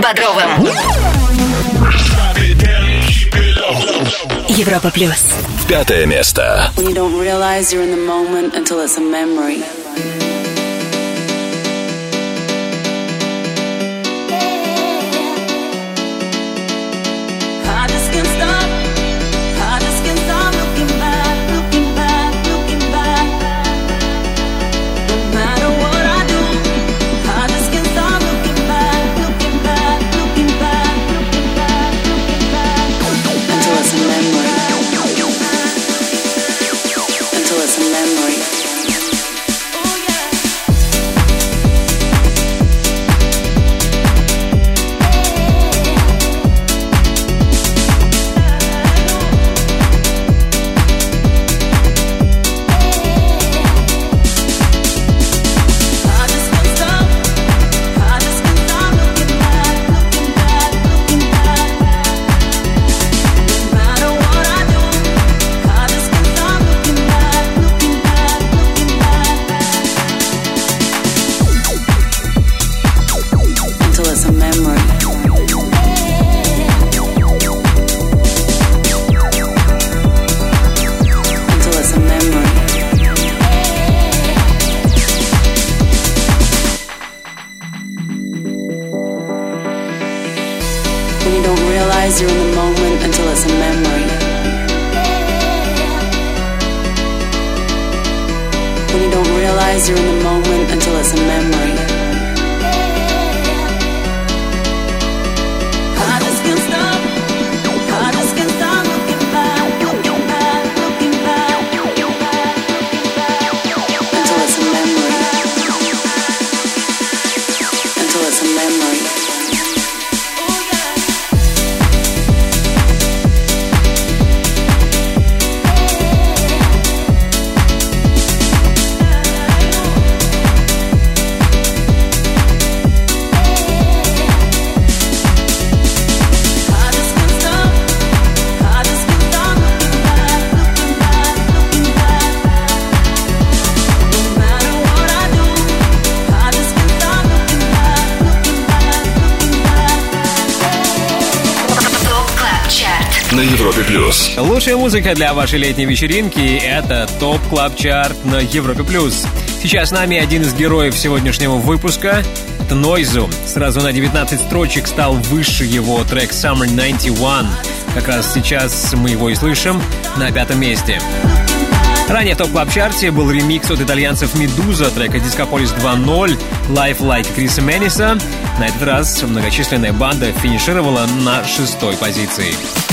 Бодровым. Европа плюс. 5 место. When you don't realize you're in the moment until it's a memory. You're in the moment until it's a memory. When you don't realize you're in the moment until it's a memory. I just can't stop. I just can't stop looking back, looking back, looking back, looking back, looking back until it's a memory. Until it's a memory. На Европе плюс. Лучшая музыка для вашей летней вечеринки — это ТОП Клаб Чарт на Европе плюс. Сейчас с нами один из героев сегодняшнего выпуска. Это Нойзу. Сразу на 19 строчек стал выше его трек Summer 91. Как раз сейчас мы его и слышим на 5-м месте. Ранее в ТОП Клаб Чарте был ремикс от итальянцев Медуза трека Discopolis 2.0 Life Like Криса Мэниса. На этот раз многочисленная банда финишировала на 6-й позиции.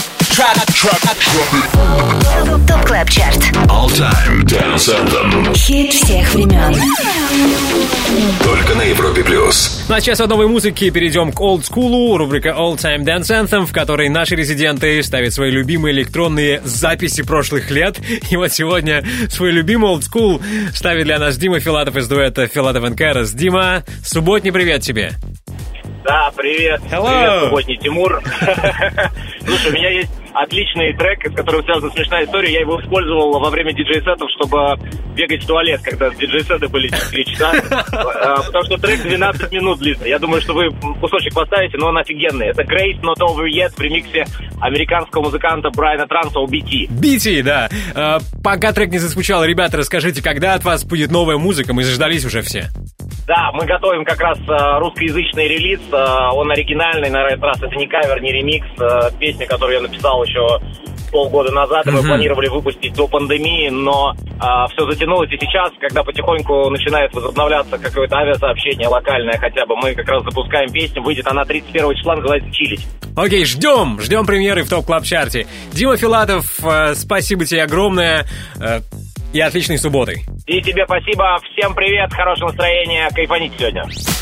ТОП Клаб Чарт. All Time Dance Anthem. Хит всех времен. Только на Европе плюс. Ну а сейчас от новой музыки перейдем к олдскулу. Рубрика All Time Dance Anthem, в которой наши резиденты ставят свои любимые электронные записи прошлых лет. И вот сегодня свой любимый олдскул ставит для нас Дима Филатов из дуэта Филатов & Кэрос. Дима, субботний привет тебе. Да, привет. Hello. Привет, субботний Тимур. Слушай, у меня есть отличный трек, с которым связана смешная история. Я его использовал во время диджей-сетов, чтобы бегать в туалет, когда диджей-сеты были 4 часа. Потому что трек 12 минут длится. Я думаю, что вы кусочек поставите, но он офигенный. Это Grace Not Over Yet в ремиксе американского музыканта Брайана Транса у BT. BT, да. Пока трек не зазвучал, ребята, расскажите, когда от вас будет новая музыка? Мы заждались уже все. Да, мы готовим как раз русскоязычный релиз. Он оригинальный, на этот раз это не кавер, не ремикс. Песня, которую я написал еще полгода назад, мы планировали выпустить до пандемии, но все затянулось, и сейчас, когда потихоньку начинает возобновляться какое-то авиасообщение локальное хотя бы, мы как раз запускаем песню, выйдет она 31 числа, называется «Чилить». Окей, ждем премьеры в ТОП Клаб Чарте. Дима Филатов, спасибо тебе огромное и отличной субботы. И тебе спасибо, всем привет, хорошего настроения, кайфаните сегодня.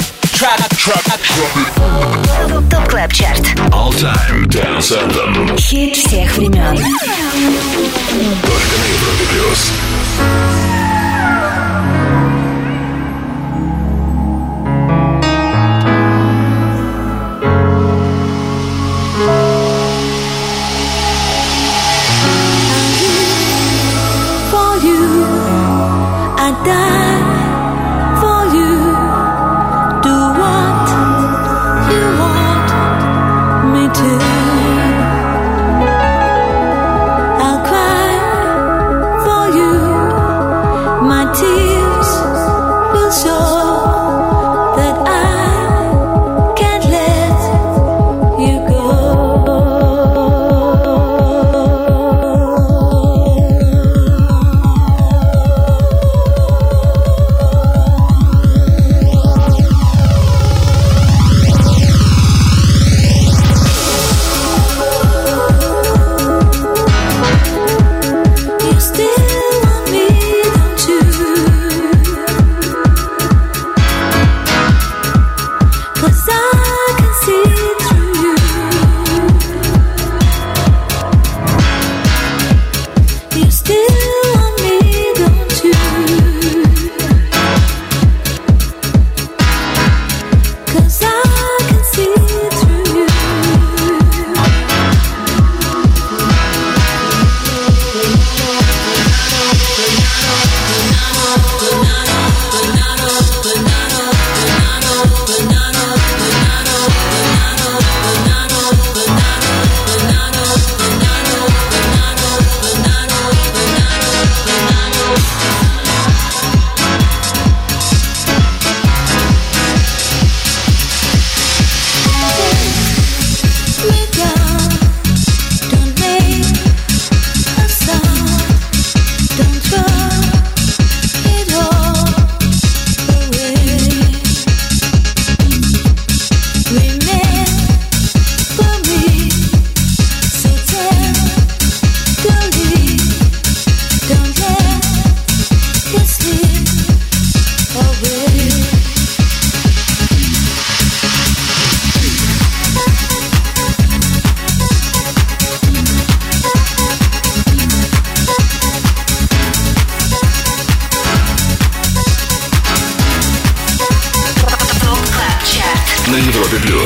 ТОП Клаб Чарт. All Time Dance Anthem. Хит всех времен. Только на Европе плюс.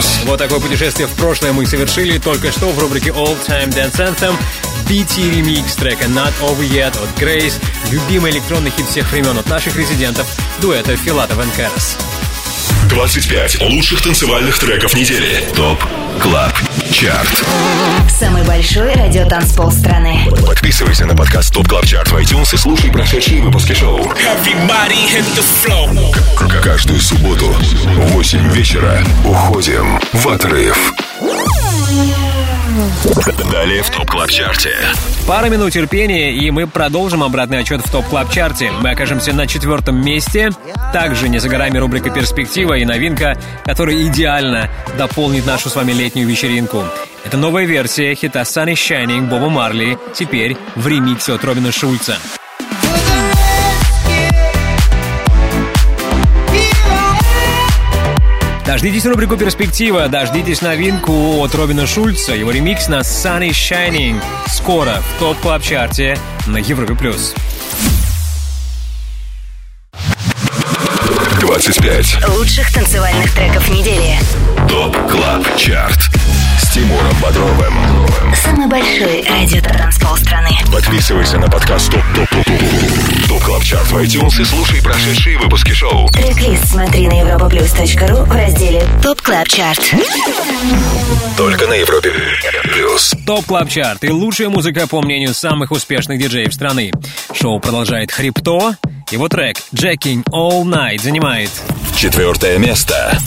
Вот такое путешествие в прошлое мы совершили только что в рубрике All Time Dance Anthem. BT ремикс трека Not Over Yet от Grace, любимый электронный хит всех времен от наших резидентов, дуэта Филатов и Кэрос. 25 лучших танцевальных треков недели. ТОП КЛАБ ЧАРТ. Самый большой радиотанцпол страны. Подписывайся на подкаст ТОП КЛАБ ЧАРТ в iTunes и слушай прошедшие выпуски шоу. Каждую субботу в 8 вечера уходим в отрыв. Далее в ТОП КЛАБ ЧАРТе. Пара минут терпения, и мы продолжим обратный отчет в ТОП КЛАБ ЧАРТе. Мы окажемся на 4 месте. Также не за горами рубрика «Перспектива» и новинка, которая идеально дополнит нашу с вами летнюю вечеринку. Это новая версия хита Sun is Shining Боба Марли, теперь в ремиксе от Робина Шульца. Дождитесь рубрику «Перспектива», дождитесь новинку от Робина Шульца, его ремикс на Sun is Shining. Скоро в ТОП КЛАБ ЧАРТе на Европе+. 25 лучших танцевальных треков недели. ТОП КЛАБ ЧАРТ с Тимуром Бодровым. Самый большой радиотанцпол страны. Подписывайся на подкаст ТОП КЛАБ ЧАРТ в iTunes и слушай прошедшие выпуски шоу. Трек-лист смотри на europaplus.ru в разделе ТОП КЛАБ ЧАРТ. Только на Европе Плюс. ТОП КЛАБ ЧАРТ и лучшая музыка по мнению самых успешных диджеев страны. Шоу продолжает Хрипто. Его трек «Jacking All Night» занимает 4 место.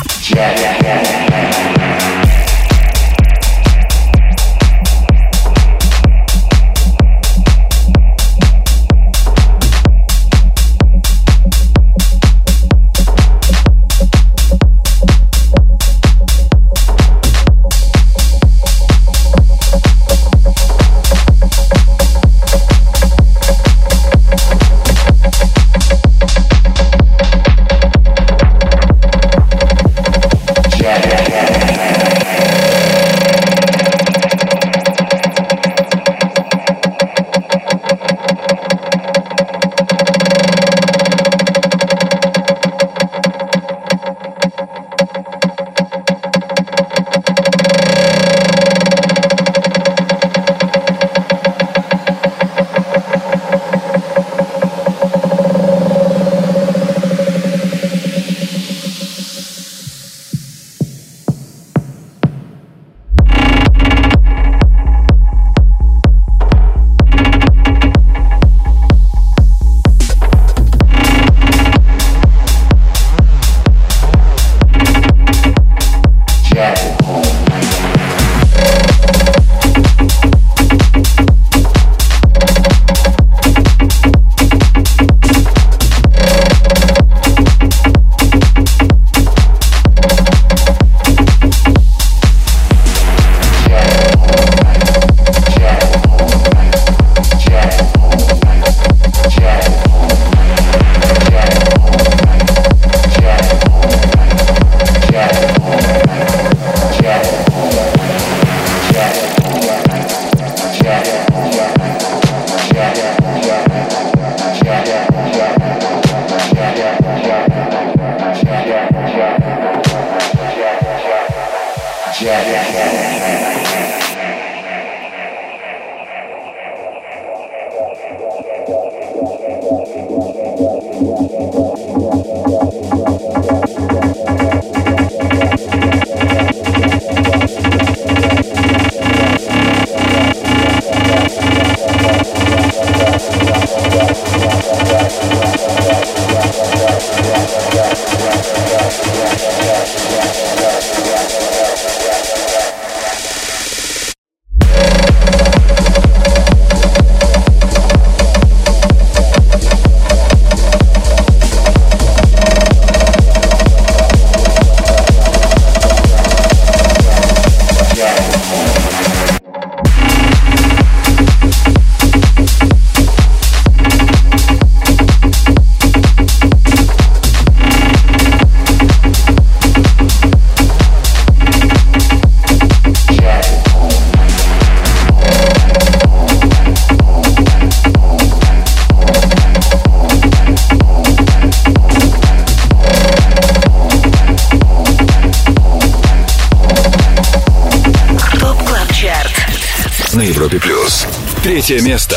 на Европе+. Третье место.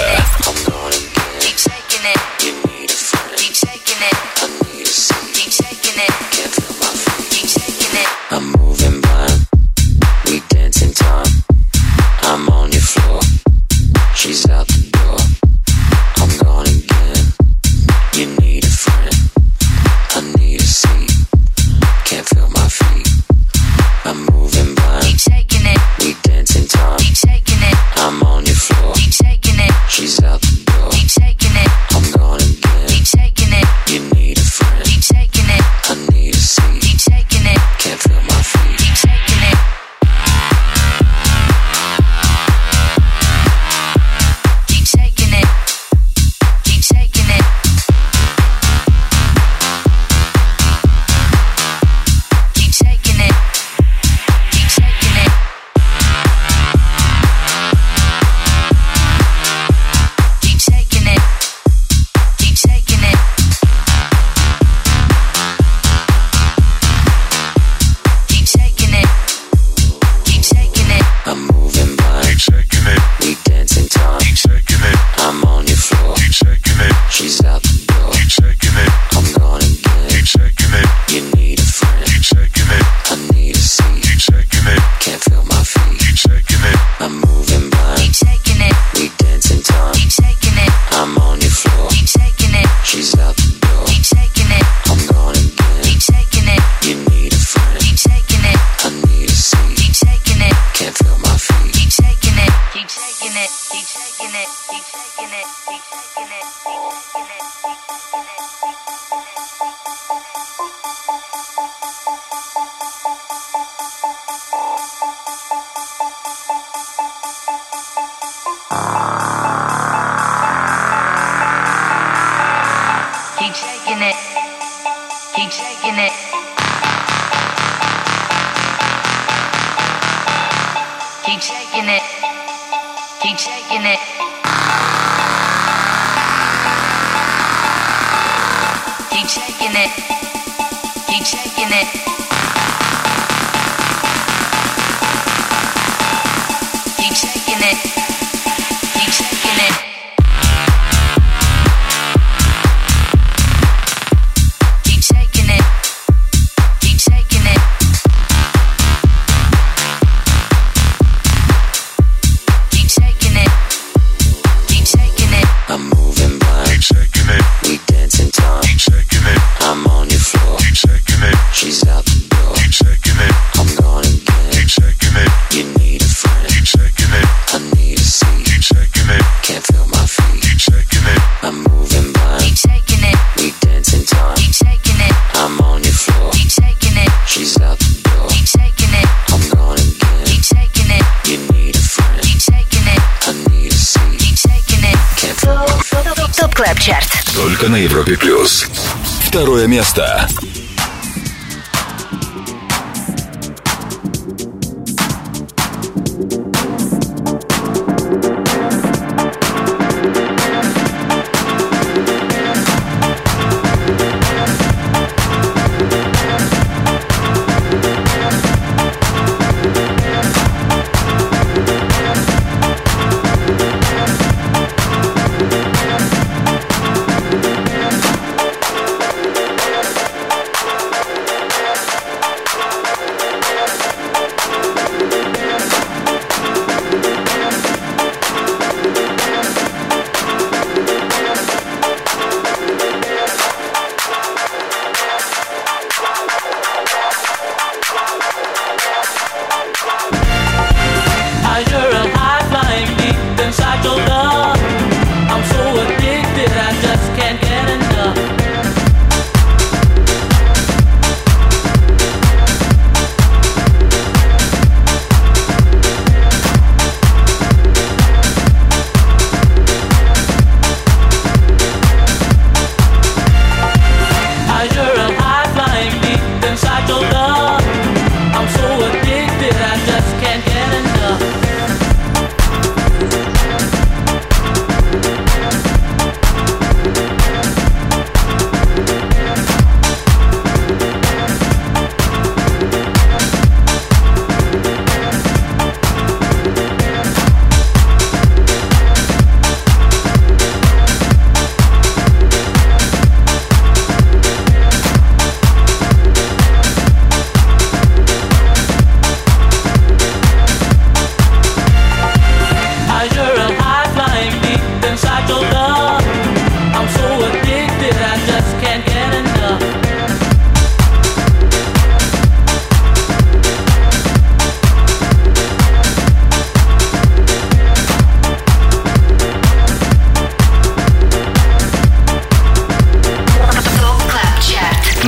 I'm moving blind, we dance in time. I'm on your floor, she's out the door. I'm gone again, you need a friend. I need a seat, can't feel my feet. I'm moving blind, keep shaking it. We dance in time, keep shaking it. I'm on your floor, keep shaking it. She's out the door, keep shaking it. I'm gone again, keep shaking it. You need a friend, keep shaking it. I need a seat, keep shaking it. Can't feel my feet, keep shaking it. Keep shaking it. Keep shaking it. Keep shaking it. Keep shaking it. Keep shaking it. Keep shaking it. Keep shaking it. Keep shaking it. I'm moving blind. Keep shaking it. We dance in time. Keep shaking it. I'm on your floor. Keep shaking it. She's out the door. Keep shaking it. I'm gone again. Keep shaking it. You need a friend. Keep shaking it. I need a seat. Keep shaking it. Can't feel my feet. Keep shaking it. I'm moving blind. Keep shaking it. We dance in time. Keep shaking it. I'm on your floor. Keep shaking it. She's out the door. Keep shaking it. I'm gone again. Keep shaking it. You need a friend. Keep shaking it. I need a seat. Keep shaking it. Can't feel my feet. Keep shaking it. Keep shaking it. Keep shaking it. Keep shaking it. Keep shaking it. Keep shaking it. Keep shaking it. Keep shaking it. Keep shaking it. Keep shaking it. Keep shaking it. Keep shaking it. Keep shaking it. Keep shaking it. Keep shaking it. Keep shaking it. Keep shaking it. Keep shaking it. I'm moving blind. Keep shaking it. We dance in time. Keep shaking it. I'm on your floor. Keep shaking it. She's out the door. Keep shaking it. I'm gone again. Keep shaking it. You need a friend. Keep shaking it. I need a seat. Keep shaking it. Can't feel my feet. Keep shaking it. I'm moving blind. Keep shaking it. We dance in time. Keep shaking it. I'm on your floor. Keep shaking it. She's out the door. Keep shaking it. I'm gone again. Keep shaking it. You need a friend. Keep shaking it. I need a seat. Keep shaking it. Can't feel my feet. ТОП Клаб Чарт. Только на Европе+. Второе место.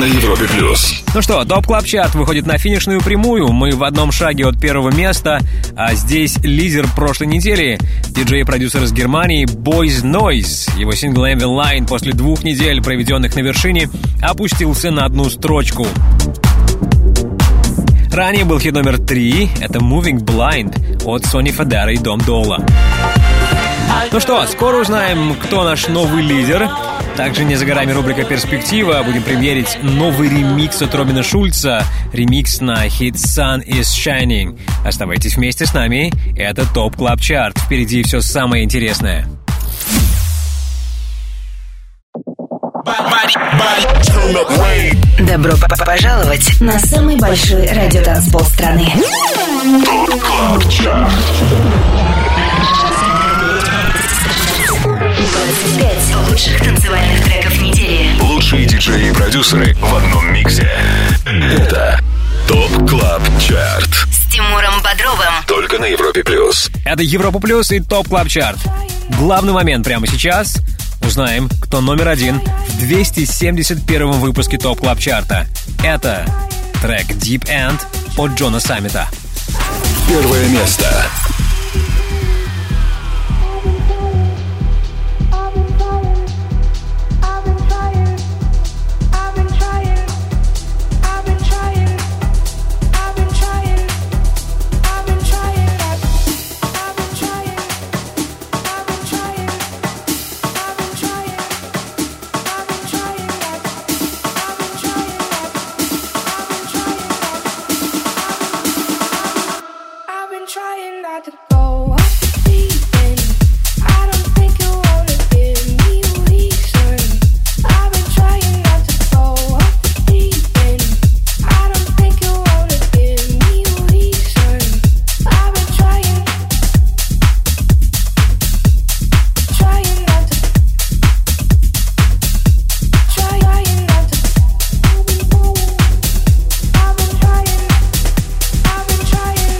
Европе плюс. Ну что, Топ Клаб Чарт выходит на финишную прямую. Мы в одном шаге от первого места, а здесь лидер прошлой недели, диджей и продюсер из Германии Boys Noise. Его сингл Envy Line после 2 недель, проведенных на вершине, опустился на одну строчку. Ранее был хит номер 3, это Moving Blind от Сони Федера и Дом Дола. Ну что, скоро узнаем, кто наш новый лидер. Также не за горами рубрика «Перспектива». Будем премьерить новый ремикс от Робина Шульца. Ремикс на хит «Sun is Shining». Оставайтесь вместе с нами. Это ТОП Клаб Чарт. Впереди все самое интересное. Добро пожаловать на самый большой радиотанцпол страны. ТОП Клаб Чарт. 25 лучших танцевальных треков недели. Лучшие диджеи и продюсеры в одном миксе. Это ТОП Клаб Чарт. С Тимуром Бодровым. Только на Европе плюс. Это Европа Плюс и ТОП Клаб Чарт. Главный момент прямо сейчас. Узнаем, кто номер 1 в 271 выпуске ТОП Клаб Чарта. Это трек Deep End от Джона Саммита. Первое место. Trying not to go off deep end. I don't think you wanna give me a reason. I've been trying not to go off deep end. I don't think you wanna give me a reason. I've been trying not to, trying not to. I've been trying.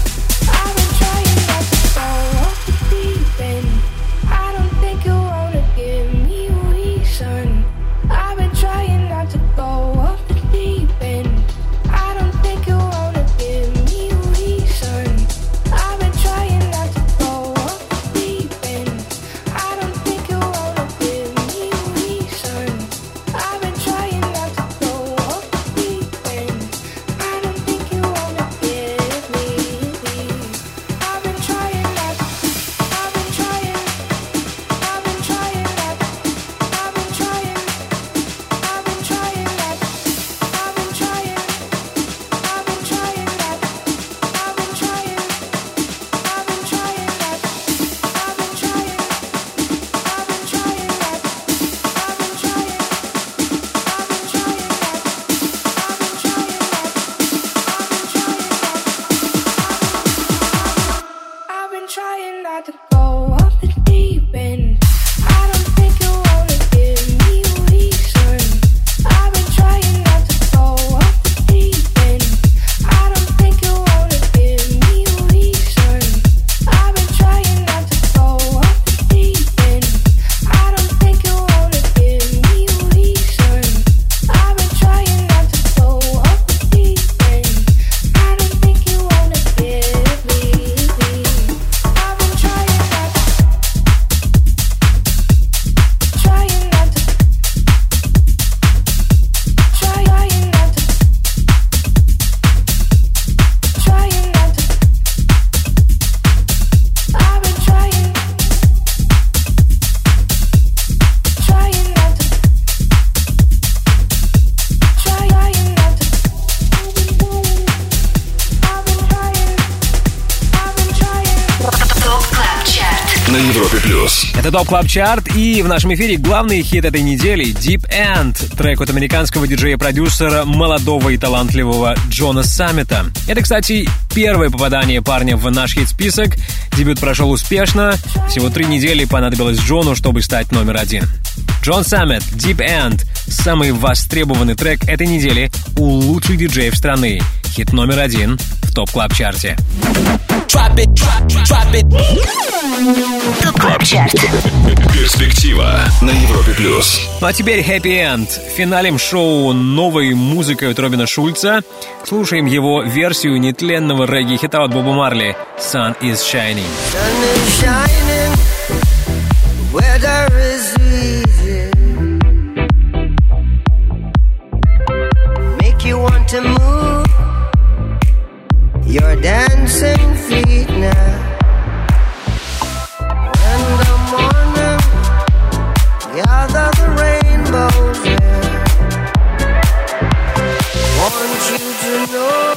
на Европе плюс. Это ТОП Клаб Чарт, и в нашем эфире главный хит этой недели — Deep End, трек от американского диджея-продюсера, молодого и талантливого Джона Саммита. Это, кстати, первое попадание парня в наш хит-список. Дебют прошел успешно. Всего 3 недели понадобилось Джону, чтобы стать номер 1. Джон Саммит, Deep End — самый востребованный трек этой недели у лучших диджеев страны. Хит номер 1 в в ТОП Клаб Чарте. ТОП Клаб Чарт. Перспектива на Европе плюс. Ну а теперь Happy End. Финалем шоу новой музыкой от Робина Шульца. Слушаем его версию нетленного регги-хита от Боба Марли «Sun is Shining». Sun is shining, weather is easy. Make you want to move your dancing feet now. In the morning, gather the rainbows there. Want you to know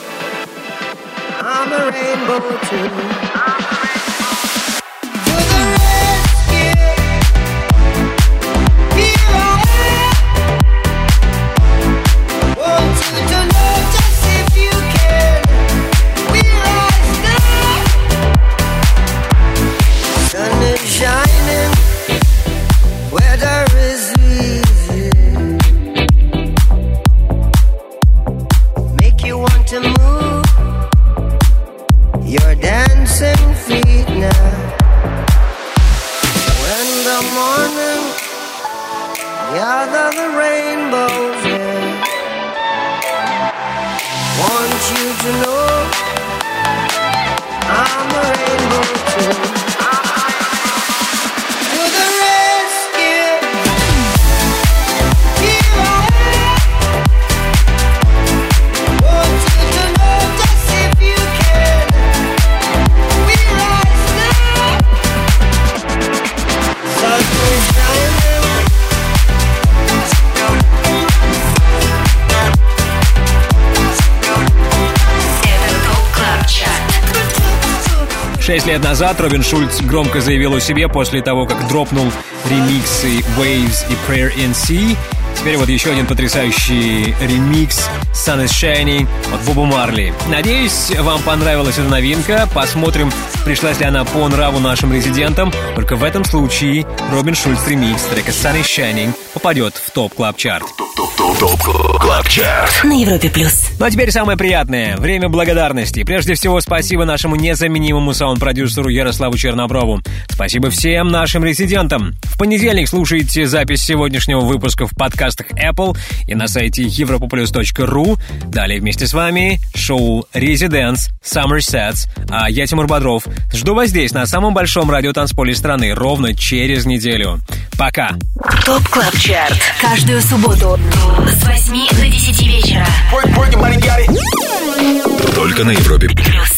I'm a rainbow too. Shining, weather is easy. Make you want to move your dancing feet now. When the morning gather the rainbows in. Want you to know I'm a rainbow too. Шесть лет назад Робин Шульц громко заявил о себе после того, как дропнул ремиксы Waves и Prayer in Sea. Теперь вот еще один потрясающий ремикс Sun is Shining от Боба Марли. Надеюсь, вам понравилась эта новинка. Посмотрим, пришлась ли она по нраву нашим резидентам. Только в этом случае Робин Шульц ремикс трека Sun is Shining попадет в ТОП Клаб Чарт. ТОП Клаб Чарт На Европе плюс. Ну а теперь самое приятное. Время благодарности. Прежде всего, спасибо нашему незаменимому саунд-продюсеру Ярославу Черноброву. Спасибо всем нашим резидентам. В понедельник слушайте запись сегодняшнего выпуска в подкастах Apple и на сайте europoplus.ru. Далее вместе с вами шоу Residents, Summer Sets. А я, Тимур Бодров, жду вас здесь, на самом большом радиотанцполе страны, ровно через неделю. Пока. ТОП Клаб Чарт. Каждую субботу с 8 до 10 вечера. Только на Европе плюс.